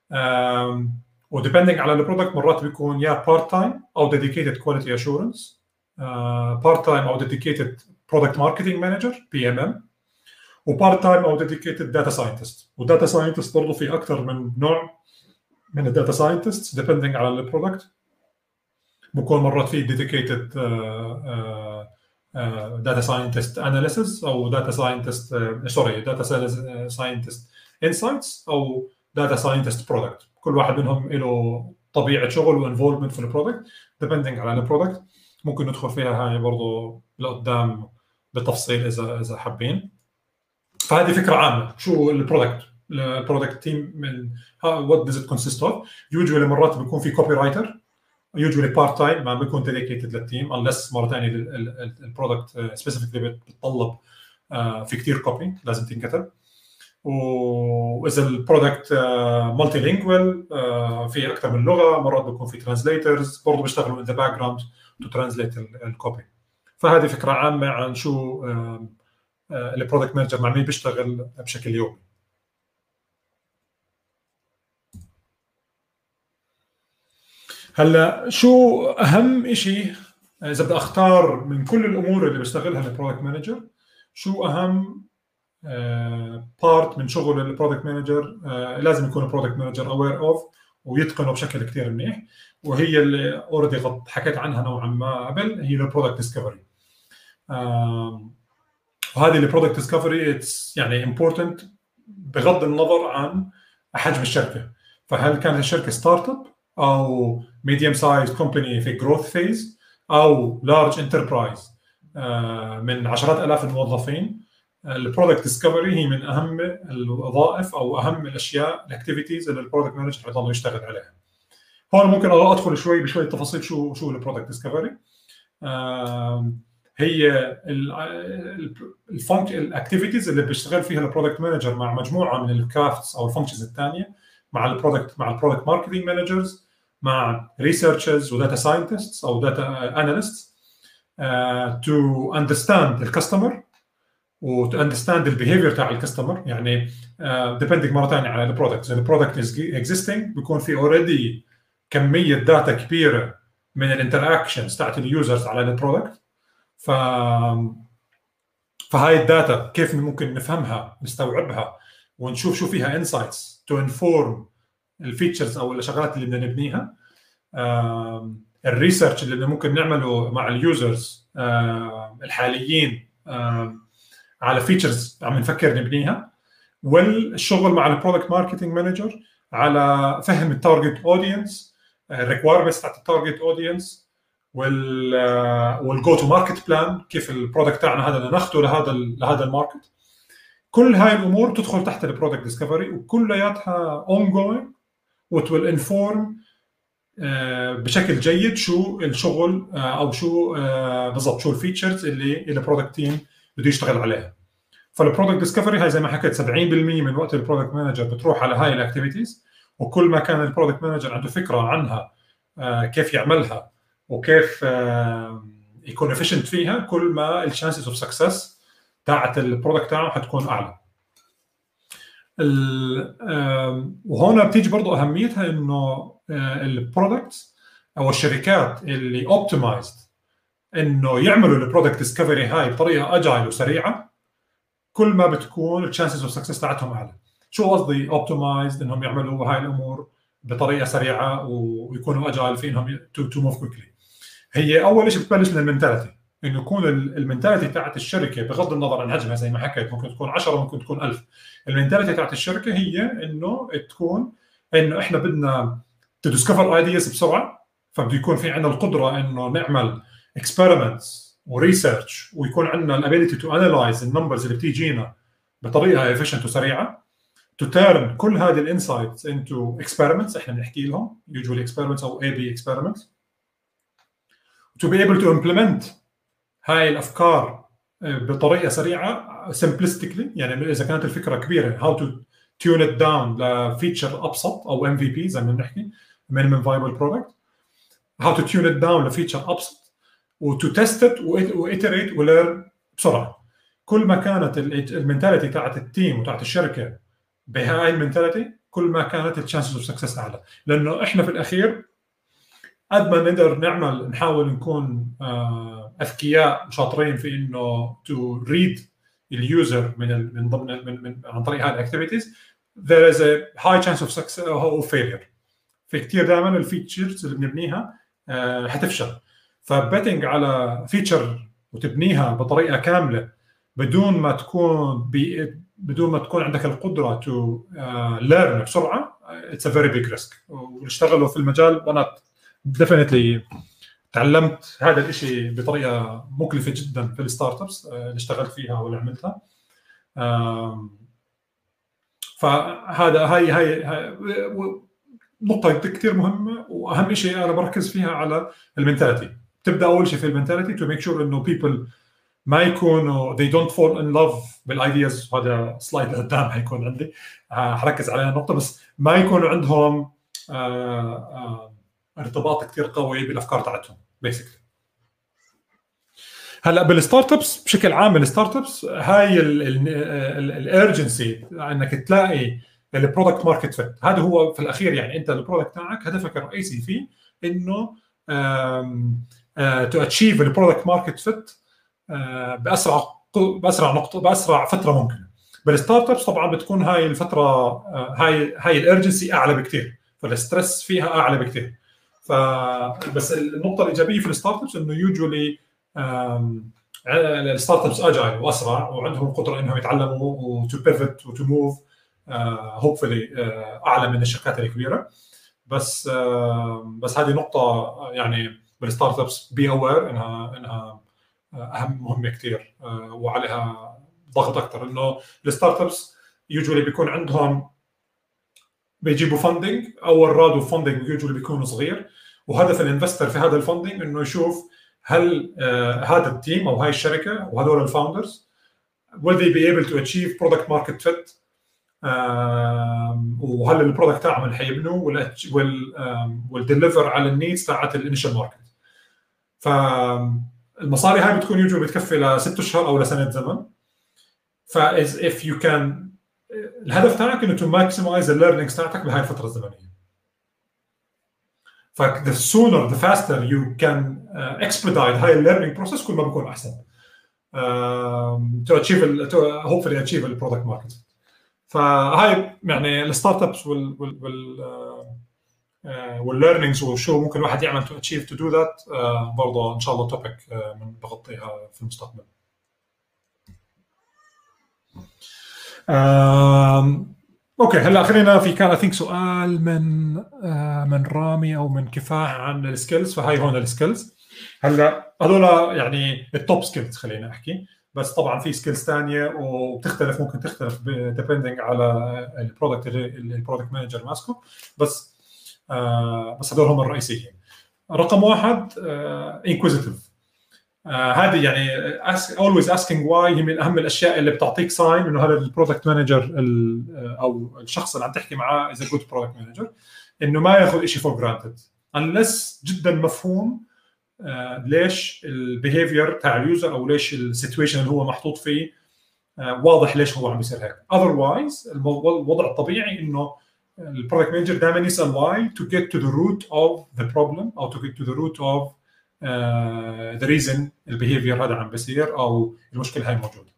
و depending على البرودكت مرات بيكون يا part time أو dedicated quality assurance, part time أو dedicated product marketing manager P M M, و part time أو dedicated data scientist. و data scientist برضو في أكثر من نوع من ال data scientists depending على البرودكت. بكون مرات في dedicated uh, uh, uh, data scientist analysis أو data scientist uh, sorry data scientist insights أو data scientist product. كل واحد منهم له طبيعه شغل وانفولفمنت في البرودكت ديبندنج على البرودكت. ممكن ندخل فيها هاي برضه لقدام بتفصيل اذا اذا حابين. فهذه فكره عامه شو البرودكت البرودكت تيم من وات داز ات كونسيست اوف. يوجوالي مرات بيكون في كوبي رايتر يوجوالي بارت تايم ما بيكون ديديكيتد للتيم unless مره ثانيه البرودكت سبيسيفيكلي بتطلب في كثير كوبي لازم تنكتب. واذا البرودكت مالتي لينجوال في اكثر من لغه مرات بيكون في ترانسليترز برضه بيشتغلوا in the background to translate الكوبي. فهذه فكره عامه عن شو البرودكت مانجر مع مين بيشتغل بشكل يومي. هلا شو اهم شيء اذا بدي اختار من كل الامور اللي بيشتغلها البرودكت مانجر شو اهم بارت من شغل البرودكت مانجر لازم يكون البرودكت مانجر اوير اوف ويتقنه بشكل كثير منيح، وهي اللي اوريدي حكيت عنها نوعا ما قبل، هي البرودكت ديسكفري. وهذه البرودكت ديسكفري اتس يعني امبورتنت بغض النظر عن حجم الشركه. فهل كانت الشركه ستارت اب او ميديوم سايز كومباني في جروث فيز او لارج انتربرايز من عشرات الاف الموظفين، البرودكت ديسكفري هي من اهم الوظائف او اهم الاشياء الاكتيفيتيز اللي البرودكت مانجر بيضل يشتغل عليها. هون ممكن ادخل شوي بشوي تفاصيل شو شو البرودكت ديسكفري. هي الفانكشن الاكتيفيتيز اللي بيشتغل فيها البرودكت مانجر مع مجموعه من الكرافتس او الفانكشنز الثانيه، مع البرودكت مع البرودكت ماركتنج مانجرز، مع ريسيرشرز وداتا ساينتستس او داتا اناليستس تو اندرستاند الكاستمر وتو اندرستاند البيهيفير تاع الكاستمر. يعني ديبندنج مره ثانيه على البرودكت. اذا البرودكت از اكزيستنج بيكون في اوريدي كميه داتا كبيره من الانتراكشنز تاعت اليوزرز على البرودكت. ف فهاي الداتا كيف ممكن نفهمها نستوعبها ونشوف شو فيها انسايتس تو انفورم الفيتشرز او الشغلات اللي بدنا نبنيها. الريسيرش اللي ممكن نعمله مع اليوزرز الحاليين على فيتشرز عم نفكر نبنيها. والشغل مع البرودكت ماركتنج مانجر على فهم التارجت اودينس، الريكوايرمنتس تاعت التارجت اودينس، وال والجو تو ماركت بلان، كيف البرودكت تاعنا هذا بدنا ناخذه لهذا لهذا الماركت. كل هاي الامور تدخل تحت البرودكت ديسكفري وكلياتها اون جوينج وتويل انفورم بشكل جيد شو الشغل او شو بالضبط شو الفيتشرز اللي البرودكت تيم بده يشتغل عليها. فالبرودكت ديسكفري هاي زي ما حكيت سبعين بالمية من وقت البرودكت مانجر بتروح على هاي الاكتيفيتيز، وكل ما كان البرودكت مانجر عنده فكره عنها كيف يعملها وكيف يكون efficient فيها، كل ما الشانسز اوف سكسس تاعت البرودكت تاعه حتكون اعلى. وهنا بتيجي برضو اهميتها انه البرودكت او الشركات اللي اوبتمايزد انه يعملوا البرودكت ديسكفري هاي بطريقه اجايل وسريعه، كل ما بتكون الشانسز اوف سكسس تاعتهم اعلى. شو قصدي اوبتمايزد؟ انهم يعملوا هاي الامور بطريقه سريعه ويكونوا اجايل في انهم تو موف كويكلي. هي اول شيء بتبلش من المنتاليتي، انه يكون المنتاليتي تاعت الشركه بغض النظر عن حجمها زي ما حكيت ممكن تكون عشرة ممكن تكون ألف. المنتاليتي تاعت الشركه هي انه تكون انه احنا بدنا تديسكفر ايدياز بسرعه، فبده يكون في عندنا القدره انه نعمل اكسبيرمنتس وريسيرش ويكون عندنا الابيليتي تو انالايز النمبرز اللي بتيجينا بطريقه efficient وسريعه، to turn كل هذه الانسايتس into experiments احنا بنحكي لهم usually experiments او اي بي experiments، to be able to implement هاي الافكار بطريقه سريعه simplistically. يعني اذا كانت الفكره كبيره how to tune it down لفيتشر ابسط او ام في بي زي ما بنحكي minimum viable product، how to tune it down لفيتشر ابسط وتو تيست ات وإيتريت وليرن بسرعه. كل ما كانت المنتاليتي تاعت التيم وتاعت الشركه بهاي المنتاليتي كل ما كانت الشانسز اوف سكسس اعلى. لانه احنا في الاخير قد ما نقدر نعمل نحاول نكون اذكياء وشاطرين في انه تو ريد اليوزر من من ضمن من, من عن طريق هاي الاكتيفيتيز there is a high chance of success or failure. في كثير دائما الفيتشرز اللي بنبنيها حتفشل. فبيتنج على فيتشر وتبنيها بطريقه كامله بدون ما تكون بدون ما تكون عندك القدره تو ليرن بسرعه، اتس ا فيري بيج ريسك. واشتغلوا في المجال، وانا ديفينتلي تعلمت هذا الشيء بطريقه مكلفه جدا في الستارت ابس اللي اشتغلت فيها واللي عملتها. فهذا هاي هاي, هاي نقطه كثير مهمه، واهم شيء انا بركز فيها على المنتاليتي. تبدا اول شيء في المنتاليتي تو ميك شور انه بيبل ما يكونوا they don't fall in love بالايدياز. هذا سلايد لقدام حيكون عندي حركز على النقطه، بس ما يكونوا عندهم آآ آآ ارتباط كثير قوي بالافكار تاعتهم بيسكلي. هلا بالستارت ابس بشكل عام، الستارت ابس هاي الارجنسي انك تلاقي البرودكت ماركت فيت، هذا هو في الاخير. يعني انت البرودكت تاعك هدفك الرئيسي فيه انه تو اتشيف البرودكت ماركت فيت باسرع باسرع نقطه باسرع فتره ممكنه. بالستارت ابس طبعا بتكون هاي الفتره هاي هاي الارجنسي اعلى بكثير، فالستريس فيها اعلى بكثير. فبس النقطه الايجابيه في الستارت ابس انه يوجولي الستارت ابس اجايل واسرع، وعندهم القدره انهم يتعلموا وتو بيفت وتو موف هوبفلي اعلى من الشركات الكبيره. بس uh, بس هذه نقطه يعني بالستارت ابس بي اوير انها انها اهم مهمه كثير uh, وعليها ضغط اكثر. انه الستارت ابس يوجولي بيكون عندهم بيجيبوا فاندنج، اول رادوا فاندنج يوجولي بيكون صغير، وهدف الانفستر في هذا الفاندنج انه يشوف هل آه هذا التيم او هاي الشركه وهذول الفاوندرز will they be able to achieve product market fit، آه وهل البرودكت تاعهم حيبنوا ولا will will deliver على النيدز تاعت الانيشال ماركت. فالمصاري هاي بتكون يوجو بتكفي لست اشهر او لسنه زمن. ف if you can الهدف تاعك انه to maximize الليرنينجز تاعتك بهاي الفتره الزمنيه. ف the sooner the faster you can uh, expedite هاي learning process كل ما بيكون احسن uh, to achieve ال, to hopefully achieve the product market. فهاي يعني الستارت ابس وال وال وال والlearnings وشو ممكن الواحد يعمل to achieve to do that uh, برضه ان شاء الله توبيك uh, من بغطيها في المستقبل. um, اوكي هلا خلينا في كان اثينك سؤال من آه من رامي او من كفاح عن السكيلز. فهاي هون السكيلز. هلا هذول يعني التوب سكيلز خلينا احكي، بس طبعا في سكيلز ثانيه وبتختلف، ممكن تختلف ديبندنج على البرودكت البرودكت مانجر ماسكه، بس آه بس هذول هم الرئيسيين. رقم واحد انكويزيتيف. آه هذه يعني ask, always asking why هي من اهم الاشياء اللي بتعطيك ساين انه هذا البرودكت مانجر او الشخص اللي عم تحكي معاه اذا جود برودكت مانجر، انه ما ياخذ شيء فور جرانتد unless جدا مفهوم آه ليش البيهيفير تاع اليوزر او ليش السيتويشن اللي هو محطوط فيه آه واضح ليش هو عم بيصير هيك. otherwise الوضع الطبيعي انه البرودكت مانجر دائما يسال why to get to the root of the problem او to get to the root of ذا ريزن البيهيفير هذا عم بيصير او المشكله هاي موجوده.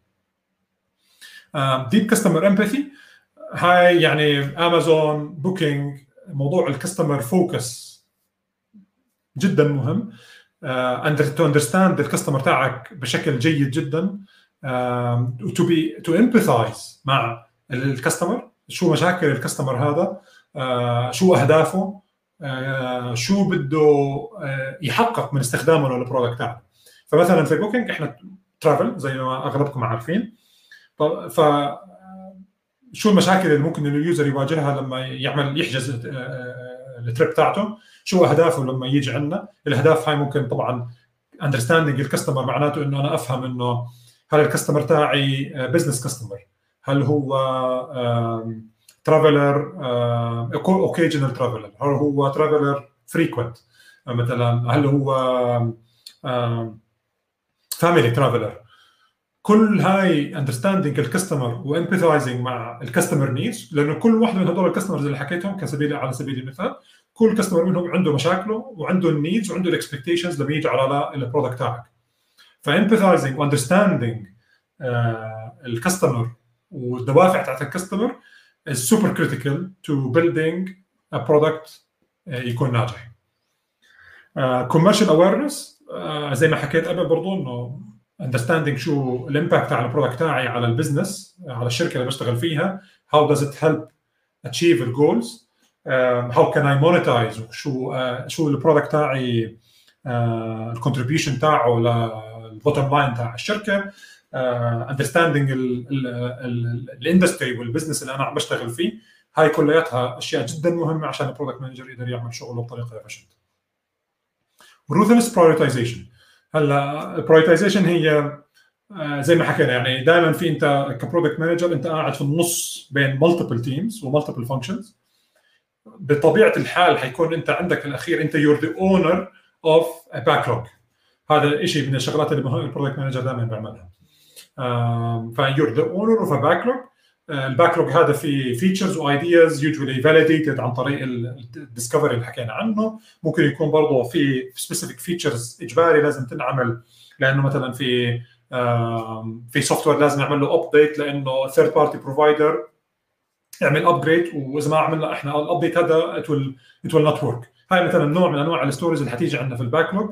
ديب كاستمر امباثي هاي يعني امازون بوكينج، موضوع الكاستمر فوكس جدا مهم. تو اندرستاند الكاستمر تاعك بشكل جيد جدا، تو بي تو امباثايز مع الكاستمر، شو مشاكل الكاستمر هذا، uh, شو اهدافه، آه شو بده آه يحقق من استخدامه للبرودكت تاعنا. فمثلا في بوكينج احنا ترافل زي ما اغلبكم عارفين. ف شو المشاكل اللي ممكن اليوزر يواجهها لما يعمل يحجز آه التريب تاعته، شو اهدافه لما يجي عندنا. الاهداف هاي ممكن طبعا اندرستاندينج الكاستمر، معناته انه انا افهم انه هل الكاستمر تاعي بزنس كاستمر، هل هو آه ترافلر اوكيجنال ترافلر، هل هو ترافلر فريكوينت مثلا، هل هو فاميلي ترافلر. كل هاي اندرستاندينج الكاستمر وامباثايزنج مع الكاستمر نيدز، لانه كل واحد من هذول الكاستمرز اللي حكيتهم كسبيل على سبيل المثال كل كاستمر منهم عنده مشاكله وعنده النيدز وعنده الاكسبكتيشنز لما يجي على البرودكت تاعك. فامباثايزنج واندرستاندينج الكاستمر والدوافع تاعت الكاستمر is super critical to building a product يكون ناجح. uh, commercial awareness uh, زي ما حكيت قبل برضو انه understanding شو الامباكت على البرودكت تاعي على البزنس على الشركه اللي بشتغل فيها، how does it help achieve the goals. هاو كان اي مونيتايز، شو uh, شو البرودكت تاعي الكونتريبيوشن تاعه للبوتtom لاين تاع الشركه، اندرستاندينج الاندستري والبزنس اللي انا عم بشتغل فيه. هاي كلياتها اشياء جدا مهمه عشان البرودكت مانجر يقدر يعمل شغله بطريقه efficient. ruthless prioritization. هلا البرايورتيزيشن هي زي ما حكينا، يعني دائما في انت كبرودكت مانجر انت قاعد في النص بين مالتيبل تيمز ومالتيبل فانكشنز. بطبيعه الحال حيكون انت عندك الاخير انت يور ذا اونر اوف ا باكلوج. هذا شيء من الشغلات اللي البرودكت مانجر دائما بيعملها. فيور ذا اونر اوف ا باكلوج. الباكلوج هذا في فيتشرز وايدياز يوجوالي فاليديتد عن طريق الديسكفري اللي حكينا عنه. ممكن يكون برضه في سبيسيفيك فيتشرز اجباري لازم تنعمل، لانه مثلا في في سوفت وير لازم نعمل له ابديت لانه ثيرد بارتي بروفايدر يعمل ابجريد، واذا ما عملنا احنا الابديت هذا ات ويل ات ويل نوت ورك. هاي مثلا نوع من انواع الستوريز اللي حتيجي عندنا في الباكلوج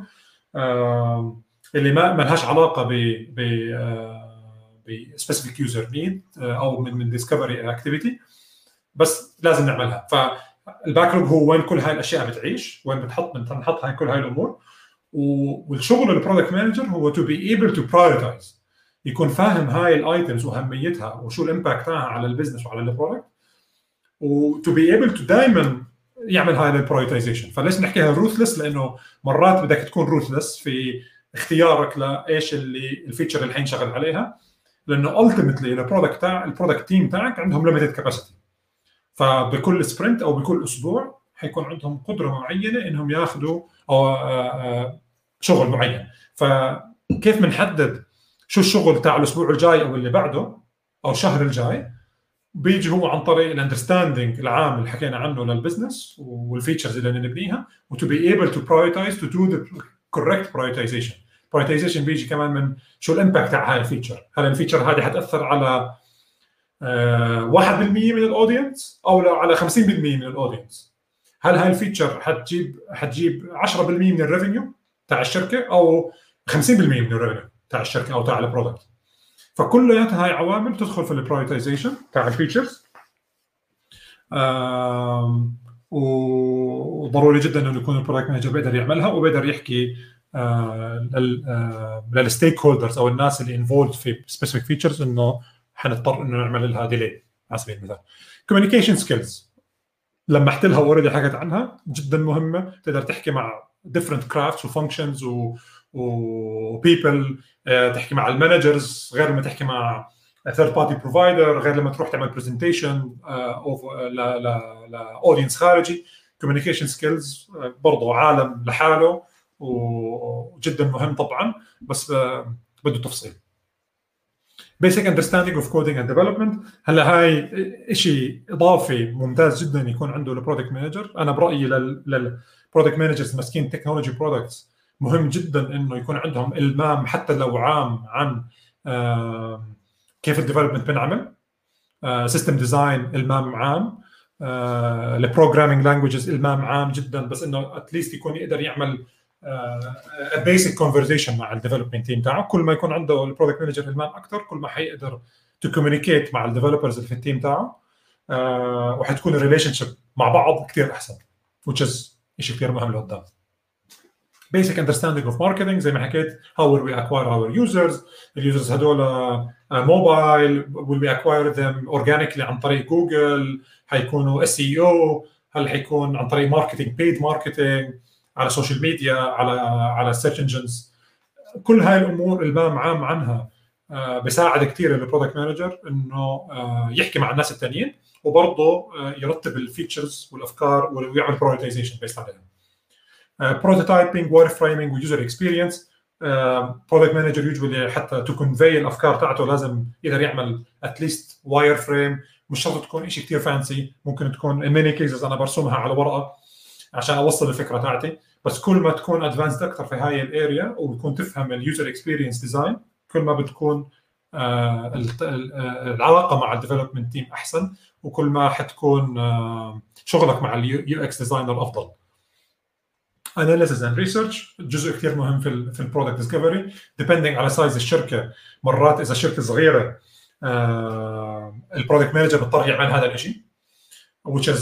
اللي ما ما لهاش علاقه ب ب بسبيسيفيك يوزر نيد او من من ديسكفري اكتيفيتي، بس لازم نعملها. فالباكلوج هو وين كل هاي الاشياء بتعيش، وين بتحط بنحط هاي كل هاي الامور. والشغل البرودكت مانجر هو تو بي ايبل تو برايورتايز، يكون فاهم هاي الايتمز واهميتها وشو الامباكت تاعها على البزنس وعلى البرودكت، وتو بي ايبل تو دائما يعمل هاي البرايورتايزيشن. فليش نحكيها روثلس؟ لانه مرات بدك تكون روثلس في اختيارك لايش اللي الفيتشر اللي حينشغل عليها، لانه التيمتلي البرودكت تاع البرودكت تيم تاعك عندهم ليميتد كاباسيتي. فبكل سبرنت او بكل اسبوع حيكون عندهم قدره معينه انهم ياخذوا او شغل معين. فكيف بنحدد شو الشغل تاع الاسبوع الجاي او اللي بعده او الشهر الجاي؟ بيجي هو عن طريق الاندرستاندينج العام اللي حكينا عنه للبزنس والفيتشرز اللي نبنيها، وتو بي ايبل تو برايورتايز تو دو ذا كوريكت برايورتايزيشن. برايورتيزيشن بيجي كمان من شو الامباكت تاع هاي الفيتشر. هل الفيتشر هذه حتاثر على واحد بالمية من الاودينس او على خمسين بالمية من الاودينس؟ هل هاي الفيتشر حتجيب حتجيب عشرة بالمية من الريفينيو تاع الشركه او خمسين بالمية من الريفينيو تاع الشركه او تاع البرودكت؟ فكلياتها هاي عوامل تدخل في البرايورتيزيشن تاع الفيتشرز. وضروري جدا انه يكون البرودكت مانجر بيقدر يعملها وبيقدر يحكي للستيك هولدرز او الناس اللي انفولد في سبيسيفيك فيتشرز انه حنضطر انه نعمل لها ديلي على سبيل المثال. كوميونيكيشن سكيلز لمحت لها اوريدي حكيت عنها، جدا مهمه. تقدر تحكي مع different crafts وفانكشنز وبيبل، تحكي مع المانجرز غير لما تحكي مع ثيرد بارتي بروفايدر، غير لما تروح تعمل برزنتيشن اوف لاودينس خارجي. كوميونيكيشن سكيلز برضه عالم لحاله وجدا مهم طبعا، بس بده تفصيل. Basic understanding of coding and development. هلا هاي شيء اضافي ممتاز جدا يكون عنده البرودكت مانجر. انا برايي للبرودكت مانجرز ماسكين تكنولوجي برودكتس مهم جدا انه يكون عندهم المام حتى لو عام عن كيف الديفلوبمنت بنعمل، سيستم ديزاين المام عام، البروجرامينج لانجويجز المام عام جدا، بس انه اتليست يكون يقدر يعمل بيسك كونفرزيشن مع الديفلوبمنت تيم تاعه. كل ما يكون عنده البرودكت مانجر المام اكثر كل ما حيقدر تو كوميونيكيت مع الديفلوبرز اللي في التيم تاعه، وحتكون الريليشن شيب مع بعض كثير احسن، which is شيء كثير مهم لقدام. basic understanding of marketing زي ما حكيت، how will we acquire our users. اليوزرز هذول موبايل will we acquire them organically عن طريق جوجل، حيكونوا اس اي او، هل حيكون عن طريق ماركتينج بيد ماركتينج على السوشيال ميديا، على على السيرش انجنز. كل هاي الامور المام عام عنها بيساعد كثير البرودكت مانجر انه يحكي مع الناس الثانيين وبرضه يرتب الفيتشرز والافكار ويعمل برايورتيزيشن بيست عليها. بروتوتايبنج، واير فريمينج، ويوزر اكسبيرينس. برودكت مانجر يوجوالي حتى تو كونفي الافكار تاعته لازم يقدر يعمل اتليست واير فريم، مش شرط تكون شيء كثير فانسي، ممكن تكون ان ماني كيسز انا برسمها على ورقه عشان اوصل الفكره تاعتي. بس كل ما تكون ادفانسد اكثر في هاي الاريا وتكون تفهم اليوزر اكسبيرينس ديزاين، كل ما بتكون آه العلاقه مع الديفلوبمنت تيم احسن، وكل ما حتكون آه شغلك مع اليو اكس ديزاينر افضل. analysis and research جزء كثير مهم في ال في البرودكت ديسكفري depending على سايز الشركه. مرات اذا شركه صغيره آه البرودكت مانجر بيضطر يعمل هذا الشيء which is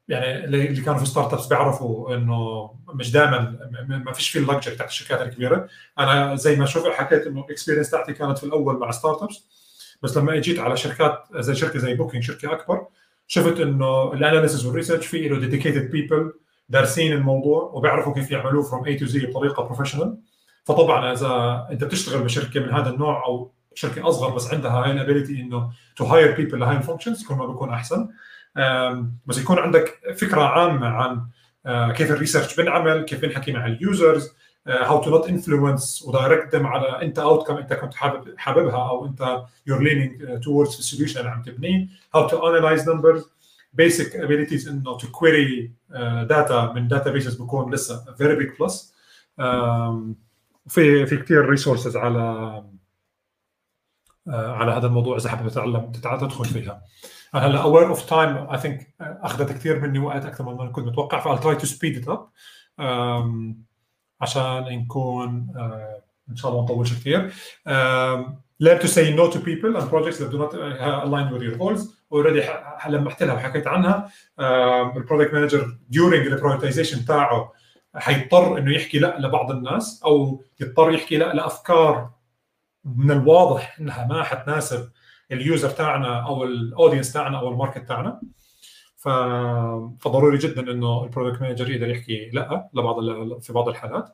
يعني اللي كانوا في ستارت ابس بيعرفوا انه مش دائما ما فيش في اللكجري تحت الشركات الكبيره. انا زي ما شوف حكيت انه الاكسبيرينس تاعتي كانت في الاول مع ستارت ابس، بس لما اجيت على شركات زي شركه زي بوكينج، شركه اكبر، شفت انه الاناليسيس والريسيرش في له ديديكيتد بيبل دارسين الموضوع وبيعرفوا كيف يعملوه فروم اي تو زي بطريقه بروفيشنال. فطبعا اذا انت بتشتغل بشركه من هذا النوع او شركه اصغر بس عندها هاي الابيليتي انه تو هاير بيبل لهاي الفانكشنز، يكون ما بيكون احسن. بس يكون عندك فكره عامه عن كيف الريسيرش بنعمل، كيف بنحكي مع اليوزرز، how to not influence ودايركت them على انت outcome انت كنت حابب حاببها او انت you're leaning towards the solution اللي عم تبنيه، how to analyze numbers، basic abilities انه to query uh, data من databases بكون لسه very big plus. um, وفي في كثير resources على uh, على هذا الموضوع اذا حابب تتعلم تدخل فيها. هلا aware of time I think اخذت كثير مني وقت اكثر من ما كنت متوقع، فال try to speed it up um, عشان نكون uh, ان شاء الله ما نطولش كثير. um, learn to say no to people and projects that do not align with your goals. already لمحت لها وحكيت عنها. البرودكت مانجر during البرايورتيزيشن تاعه حيضطر انه يحكي لا لبعض الناس او يضطر يحكي لا لافكار من الواضح انها ما حتناسب اليوزر تاعنا او الاودينس تاعنا او الماركت تاعنا. ف... فضروري جدا انه البرودكت مانجر يقدر يحكي لا لبعض ال... في بعض الحالات.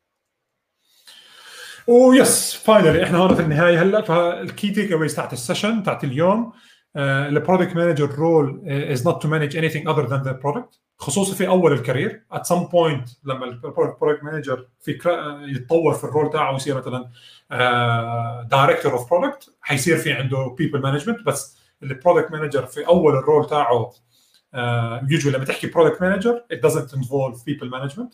ويس فاينلي احنا هون في النهايه هلا. فالكي تيك اويز تاعت السيشن تاعت اليوم، البرودكت مانجر رول is not to manage anything other than the product، خصوصا في اول الكارير. at some point لما البرودكت مانجر في يتطور في الرول تاعه ويصير مثلا دايركتور اوف برودكت، حيصير في عنده بيبل مانجمنت. بس البرودكت مانجر في اول الرول تاعه يوجوالي لما تحكي برودكت مانجر it doesn't involve people management.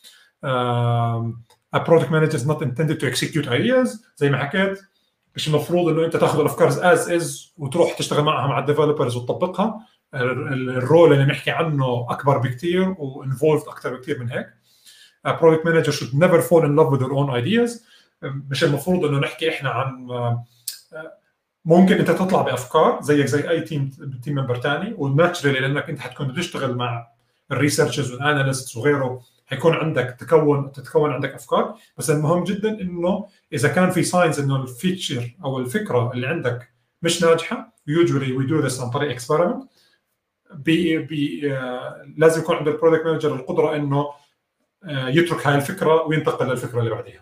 a product manager is not intended to execute ideas زي ما حكيت. مش المفروض انه انت تاخذ الافكار از از وتروح تشتغل معها مع الديفلوبرز وتطبقها. الرول اللي نحكي عنه اكبر بكثير وانفولد اكثر بكثير من هيك. a product manager should never fall in love with their own ideas. مش المفروض انه نحكي احنا عن ممكن انت تطلع بافكار زيك زي اي تيم تيم ممبر ثاني، والناتشرالي لانك انت حتكون بتشتغل مع الريسيرشرز والاناليستس وغيره حيكون عندك تكون تتكون عندك افكار. بس المهم جدا انه اذا كان في ساينز انه الفيتشر او الفكره اللي عندك مش ناجحه، usually we do this عن طريق اكسبيرمنت، بي بي آه لازم يكون عند البرودكت مانجر القدره انه آه يترك هاي الفكره وينتقل للفكره اللي بعديها.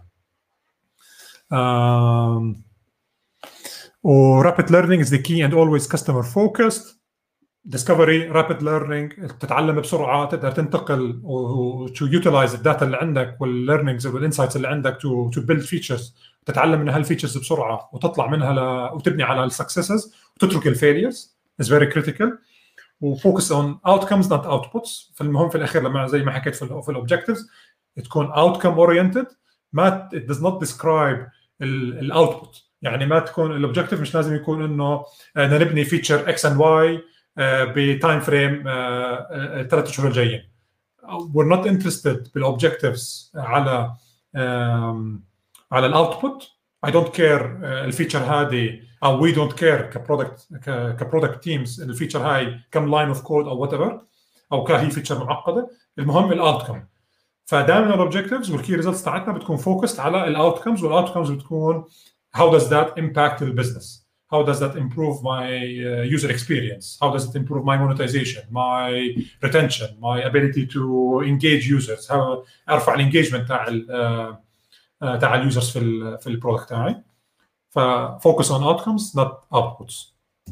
um, و rapid learning is the key and always customer focused. discovery rapid learning، تتعلم بسرعه، تقدر تنتقل و to utilize الداتا اللي عندك والlearnings والinsights اللي عندك to to build features، تتعلم من هالفيتشرز بسرعه وتطلع منها ل... وتبني على السكسسز وتترك الفيليرز is very critical. وفوكس on outcomes not outputs. فالمهم في الاخير لما زي ما حكيت في في الاوبجكتيفز تكون outcome oriented، ما it does not describe الاوتبوت. يعني ما تكون الاوبجكتيف مش لازم يكون انه نبني فيتشر اكس اند واي بتايم فريم ثلاث شهور الجايين. we're not interested بالاوبجكتيفز على على الاوتبوت. I don't care الفيتشر هذه او we don't care كبرودكت كبرودكت تيمز الفيتشر هاي كم لاين اوف كود او وات ايفر او كهي فيتشر معقده. المهم الاوتكم. فدائما الاوبجكتيفز والكي ريزلتس تاعتنا بتكون فوكست على الاوتكمز، والاوتكمز بتكون how does that impact the business, how does that improve my uh, user experience, how does it improve my monetization, my retention, my ability to engage users, how ارفع الانجيجمنت تاع ال uh, تاع اليوزرز في ال في البرودكت تاعي. ففوكس on outcomes not outputs.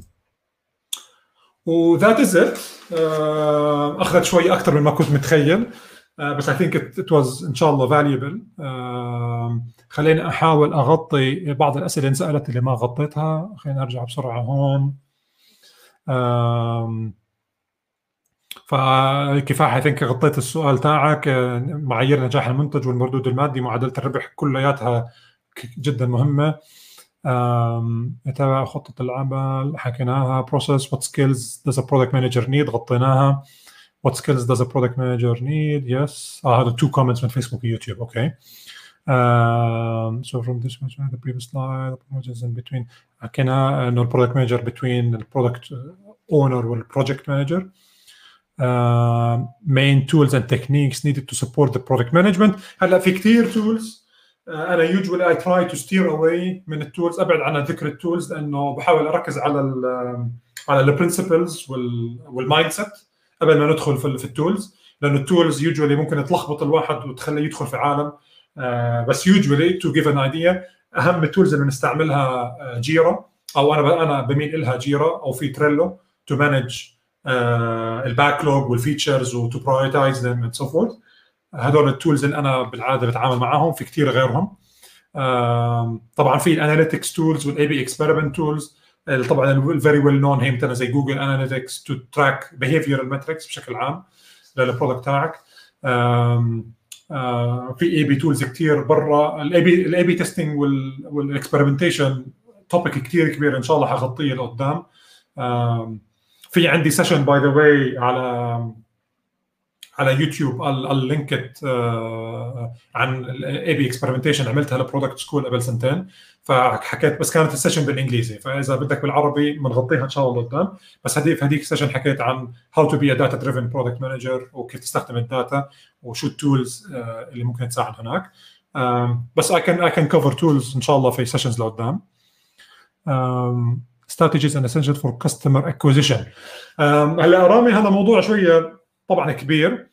و that is it. uh, اخذت شوي اكثر مما كنت متخيل، uh, بس I think it, it was ان شاء الله valuable. uh, خليني احاول اغطي بعض الاسئله اللي سالت اللي ما غطيتها. خلينا ارجع بسرعه هون. uh, فكفاح I think غطيت السؤال تاعك. معايير نجاح المنتج والمردود المادي، معادله الربح، كلياتها جدا مهمه. يتابع خطة العمل حكيناها. process what skills does a product manager need غطيناها. what skills does a product manager need yes اه هذا two comments من فيسبوك ويوتيوب. اوكي um, so from this one the previous slide the in between حكينا انه البرودكت مانجر between البرودكت اونر والبروجكت مانجر. uh, main tools and techniques needed to support the product management. هلا في كثير tools uh, انا usually I try to steer away من التولز، ابعد عن ذكر التولز لانه بحاول اركز على ال على البرنسبلز والمايند سيت قبل ما ندخل في, في التولز، لانه التولز usually ممكن تلخبط الواحد وتخليه يدخل في عالم. uh, بس usually to give an idea اهم التولز اللي بنستعملها جيرا، او انا انا بميل لها جيرا، او في تريلو to manage الباكلوج والفيتشرز وتو برايورتايز ذم اند سو فورث. هذول التولز اللي انا بالعاده بتعامل معاهم. في كثير غيرهم طبعا، في الاناليتكس تولز والاي بي اكسبيرمنت تولز، طبعا الفيري ويل نون هي مثلا زي جوجل اناليتكس تو تراك بيهيفيرال ماتريكس بشكل عام للبرودكت تاعك. في اي بي تولز كثير برا. الاي بي الاي بي تيستينج والاكسبيرمنتيشن توبيك كثير كبير ان شاء الله حغطيه لقدام. في عندي سيشن باي ذا واي على على يوتيوب اللينكت عن الاي بي اكسبيرمنتيشن، عملتها لبرودكت سكول قبل سنتين، فحكيت بس كانت السيشن بالانجليزي، فاذا بدك بالعربي بنغطيها ان شاء الله قدام. بس هذيك في هذيك السيشن حكيت عن هاو تو بي ا داتا دريفن برودكت مانجر، وكيف تستخدم الداتا وشو التولز اللي ممكن تساعد هناك. بس I can I can cover tools ان شاء الله في سيشنز لقدام. strategies and essential for customer acquisition. هلا رامي هذا موضوع شويه طبعا كبير.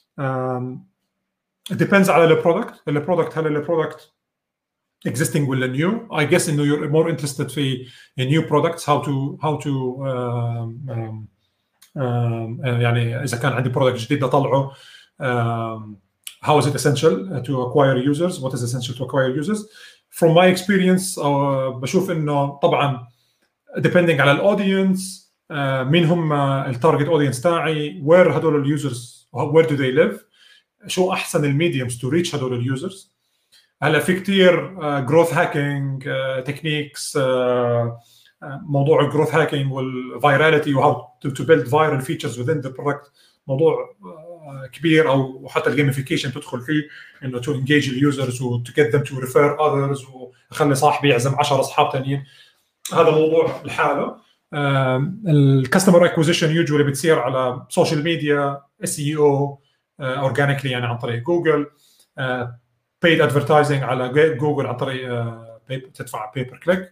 it depends على البرودكت. البرودكت هل البرودكت existing ولا new؟ I guess انه you're more interested في new products how to how to um, um, um, يعني اذا كان عندي برودكت جديد اطلعه um, how is it essential to acquire users? What is essential to acquire users? From my experience uh, بشوف انه طبعا depending على الاودينس، uh, مين هم التارجت اودينس تاعي، where هدول اليوزرز where do they live، شو احسن الميديومز تو ريتش هدول اليوزرز. هلا في كثير جروث هاكينج تكنيكس، موضوع الجروث هاكينج والفايراليتي وهاو تو بيلد فايرال فيتشرز within the product موضوع uh, كبير، او حتى الجيميفيكيشن تدخل فيه، انه تو انجيج اليوزرز وتو جيت ذم تو ريفير اذرز، وخلي صاحبي يعزم عشرة اصحاب ثانيين. هذا موضوع لحاله. الكاستمر اكوزيشن يوجوالي بتصير على سوشيال ميديا، اس اي او اورجانيكلي يعني عن طريق جوجل، بيد ادفرتايزنج على جوجل عن طريق تدفع بيبر كليك.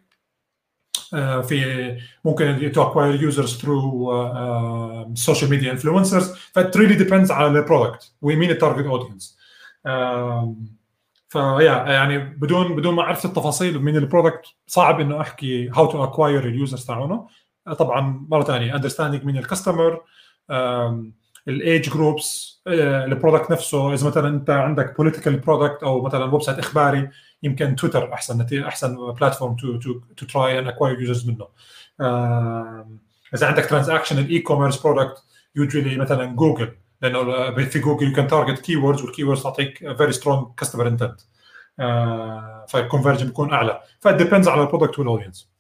في ممكن تو اكواير يوزرز ثرو سوشيال ميديا انفلونسرز. فات ريلي ديبندز على البرودكت ومين التارجت اودينس. فيا يعني بدون بدون ما اعرف التفاصيل من البرودكت صعب انه احكي هاو تو اكواير اليوزرز تاعونه. طبعا مره ثانيه اندرستاندينج من الكاستمر، الايج جروبس، البرودكت نفسه. اذا مثلا انت عندك بوليتيكال برودكت او مثلا ويب سايت اخباري، يمكن تويتر احسن احسن بلاتفورم تو تو تو تراي اند اكواير يوزرز منه. اذا عندك ترانزاكشن الاي كوميرس برودكت، يوجوالي مثلا جوجل، لانه في جوجل يو كان تارجت كي ووردز، والكي ووردز تعطيك فيري سترونج كاستمر انتنت، فالكونفرجن بيكون اعلى. فديبندز على البرودكت والاودينس.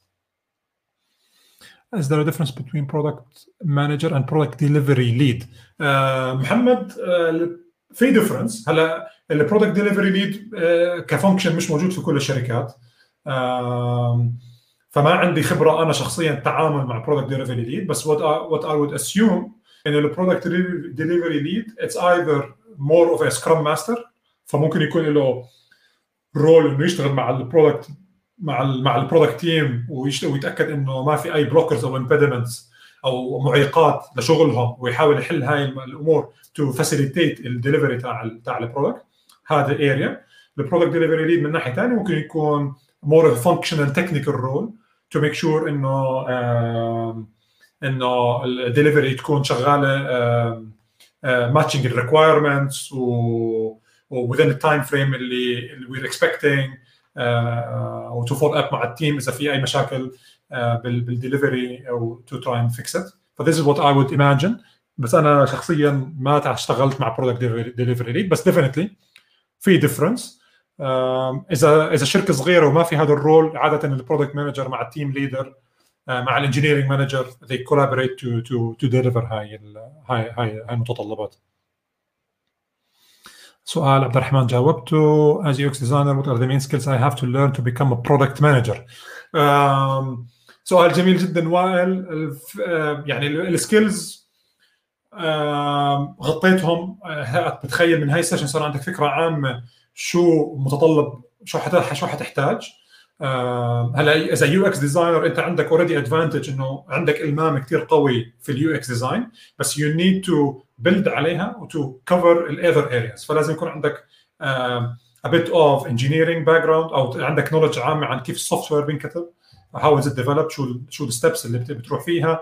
Is there a difference between product manager and product delivery lead? uh, محمد uh, في difference. هلا البرودكت ديليفري ليد كفانكشن مش موجود في كل الشركات، uh, فما عندي خبره انا شخصيا التعامل مع برودكت ديليفري ليد. بس what I, what I would assume ان البرودكت ديليفري ليد it's either more of a scrum master، فممكن يكون له رول انه يشتغل مع البرودكت مع ال مع البرودكت تيم ويتاكد انه ما في اي بلوكرز او امبيدمنتس او معيقات لشغلهم، ويحاول يحل هاي الامور تو فاسيليتيت الدليفري تاع تاع البرودكت. هذا اريا. البرودكت ديليفري ليد من ناحيه ثانيه ممكن يكون مور فانكشنال تكنيكال رول تو ميك شور انه انه الدليفري تكون شغاله ماتشنج الريكوايرمنتس و within التايم فريم اللي وير اكسبكتنج، او تو فولو اب مع التيم اذا في اي مشاكل بالدليفري او تو تراي اند فيكس ات. فذيس از وات اي وود ايماجن. بس انا شخصيا ما اشتغلت مع برودكت ديليفري ليد، بس ديفينتلي في ديفرنس. اذا اذا شركه صغيره وما في هذا الرول، عاده البرودكت مانجر مع التيم ليدر مع الانجينيرنج مانجر they collaborate to to to deliver هاي هاي هاي المتطلبات. سؤال عبد الرحمن جاوبته. as U X designer what are the main skills I have to learn to become a product manager؟ سؤال جميل جدا وائل. يعني السكيلز غطيتهم. بتخيل من هاي السيشن صار عندك فكره عامه شو متطلب، شو حت شو حتحتاج. هلا اذا يو اكس ديزاينر انت عندك اوريدي ادفانتج انه عندك المام كثير قوي في اليو اكس ديزاين، بس يو نيد تو بيلد عليها وتو كفر الاذر ارياز. فلازم يكون عندك a bit of engineering background او عندك نولج عامه عن كيف السوفت وير بينكتب، how is it developed، شو شو الستبس اللي بتروح فيها،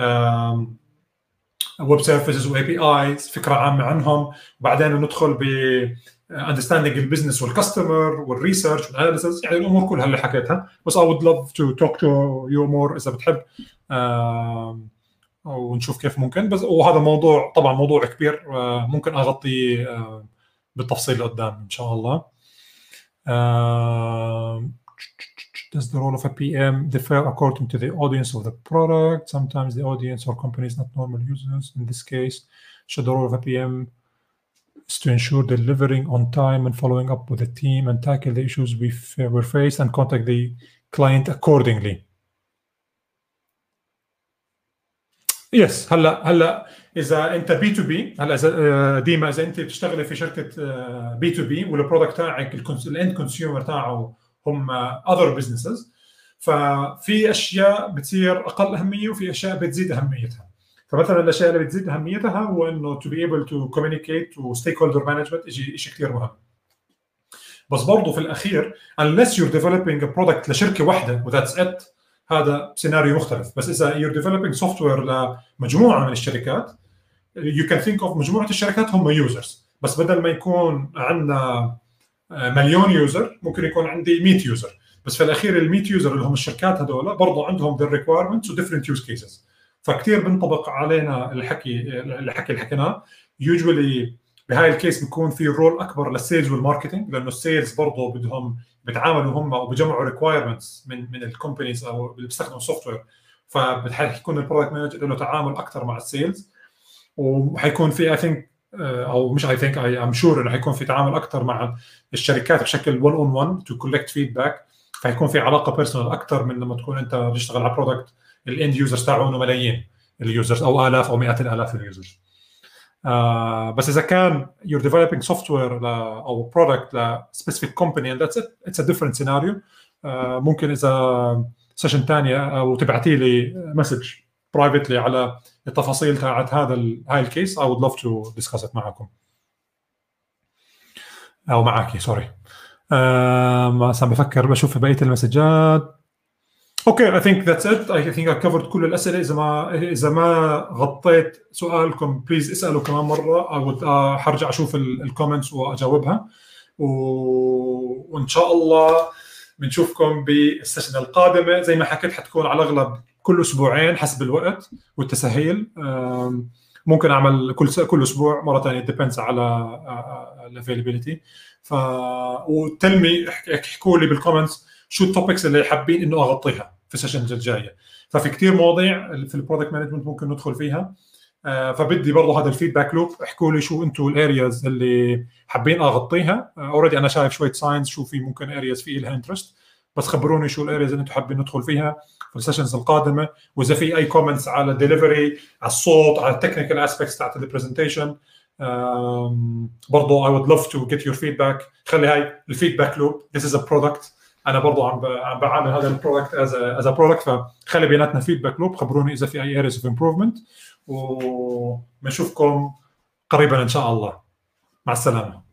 ويب سيرفيسز واي بي ايز، فكره عامه عنهم. وبعدين ندخل ب understanding البزنس والكاستمر والريسيرش والاناليسيس، يعني الامور كلها اللي حكيتها. بس I would love to talk to you more اذا بتحب، ونشوف كيف ممكن. بس وهذا موضوع طبعا موضوع كبير، ممكن اغطيه بالتفصيل قدام ان شاء الله. Does the role of a P M differ according to the audience of the product? Sometimes the audience or company is not normal users. In this case, should the role of a P M is to ensure delivering on time and following up with the team and tackle the issues we were faced and contact the client accordingly. Yes. هلا هلا اذا انت بي تو بي، هلا اذا ديما اذا انت بتشتغلي في شركه بي تو بي والبرودكت تاعك الاند كونسيومر تاعه هم other businesses، ففي اشياء بتصير اقل اهميه وفي اشياء بتزيد اهميتها. فمثلا الاشياء اللي بتزيد اهميتها هو انه to be able to communicate و stakeholder management شيء شيء كثير مهم. بس برضه في الاخير unless you're developing a product لشركه واحده و that's it، هذا سيناريو مختلف. بس اذا you're developing software لمجموعه من الشركات، you can think of مجموعه الشركات هم users، بس بدل ما يكون عندنا مليون يوزر ممكن يكون عندي مية يوزر. بس في الاخير ال مية يوزر اللي هم الشركات هذول برضه عندهم their requirements و different use cases. فكتير بنطبق علينا الحكي الحكي اللي حكيناه. usually بهاي الكيس بيكون في رول اكبر للسيلز والماركتينج، لانه السيلز برضه بدهم بيتعاملوا هم وبيجمعوا ريكوايرمنتس من من الكومبانيز او اللي بيستخدموا سوفت وير. فبتحكون البرودكت مانجر له تعامل اكثر مع السيلز، وحيكون في اي ثينك او مش اي ثينك اي ام شور انه حيكون في تعامل اكثر مع الشركات بشكل one on one to collect feedback. فحيكون في علاقه بيرسونال اكثر من لما تكون انت بتشتغل على برودكت الاند يوزرز تاعونه ملايين اليوزرز او الاف او مئات الالاف اليوزرز. Uh, بس اذا كان you're developing software او product ل specific company and that's it, it's a different scenario. uh, ممكن اذا سيشن ثانيه او تبعتي لي مسج privately على التفاصيل تاعت هذا هاي الكيس I would love to discuss it معكم او معاكي سوري. uh, ما سام بفكر بشوف بقيه المسجات. اوكي I think that's it. I think I covered كل الاسئله. اذا ما اذا ما غطيت سؤالكم بليز اسالوا كمان مره. I would uh, حرجع اشوف الكومنتس واجاوبها، و... وان شاء الله بنشوفكم بالسيشن القادمه. زي ما حكيت حتكون على الاغلب كل اسبوعين حسب الوقت والتسهيل. ممكن اعمل كل كل اسبوع مره ثانيه depends على الافيلابيلتي. ف وتلمي احكوا لي بالكومنتس شو التوبكس اللي حابين انه اغطيها في السيشنز الجايه. ففي كثير مواضيع في البرودكت مانجمنت ممكن ندخل فيها. فبدي برضه هذا الفيدباك لوب. احكوا لي شو انتم الارياز اللي حابين اغطيها. اوريدي انا شايف شويه ساينس شو في ممكن ارياز في لها انترست، بس خبروني شو الارياز اللي انتم حابين ندخل فيها في السيشنز القادمه. واذا في اي كومنتس على الدليفري، على الصوت، على التكنيكال اسبيكتس تاعت البرزنتيشن، برضه I would love to get your feedback. خلي هاي الفيدباك لوب. This is a product. انا برضه عم عم بعمل هذا البرودكت از از برودكت. فخلي بيناتنا فيدباك لوب. خبروني اذا في اي areas of improvement، وبنشوفكم قريبا ان شاء الله. مع السلامه.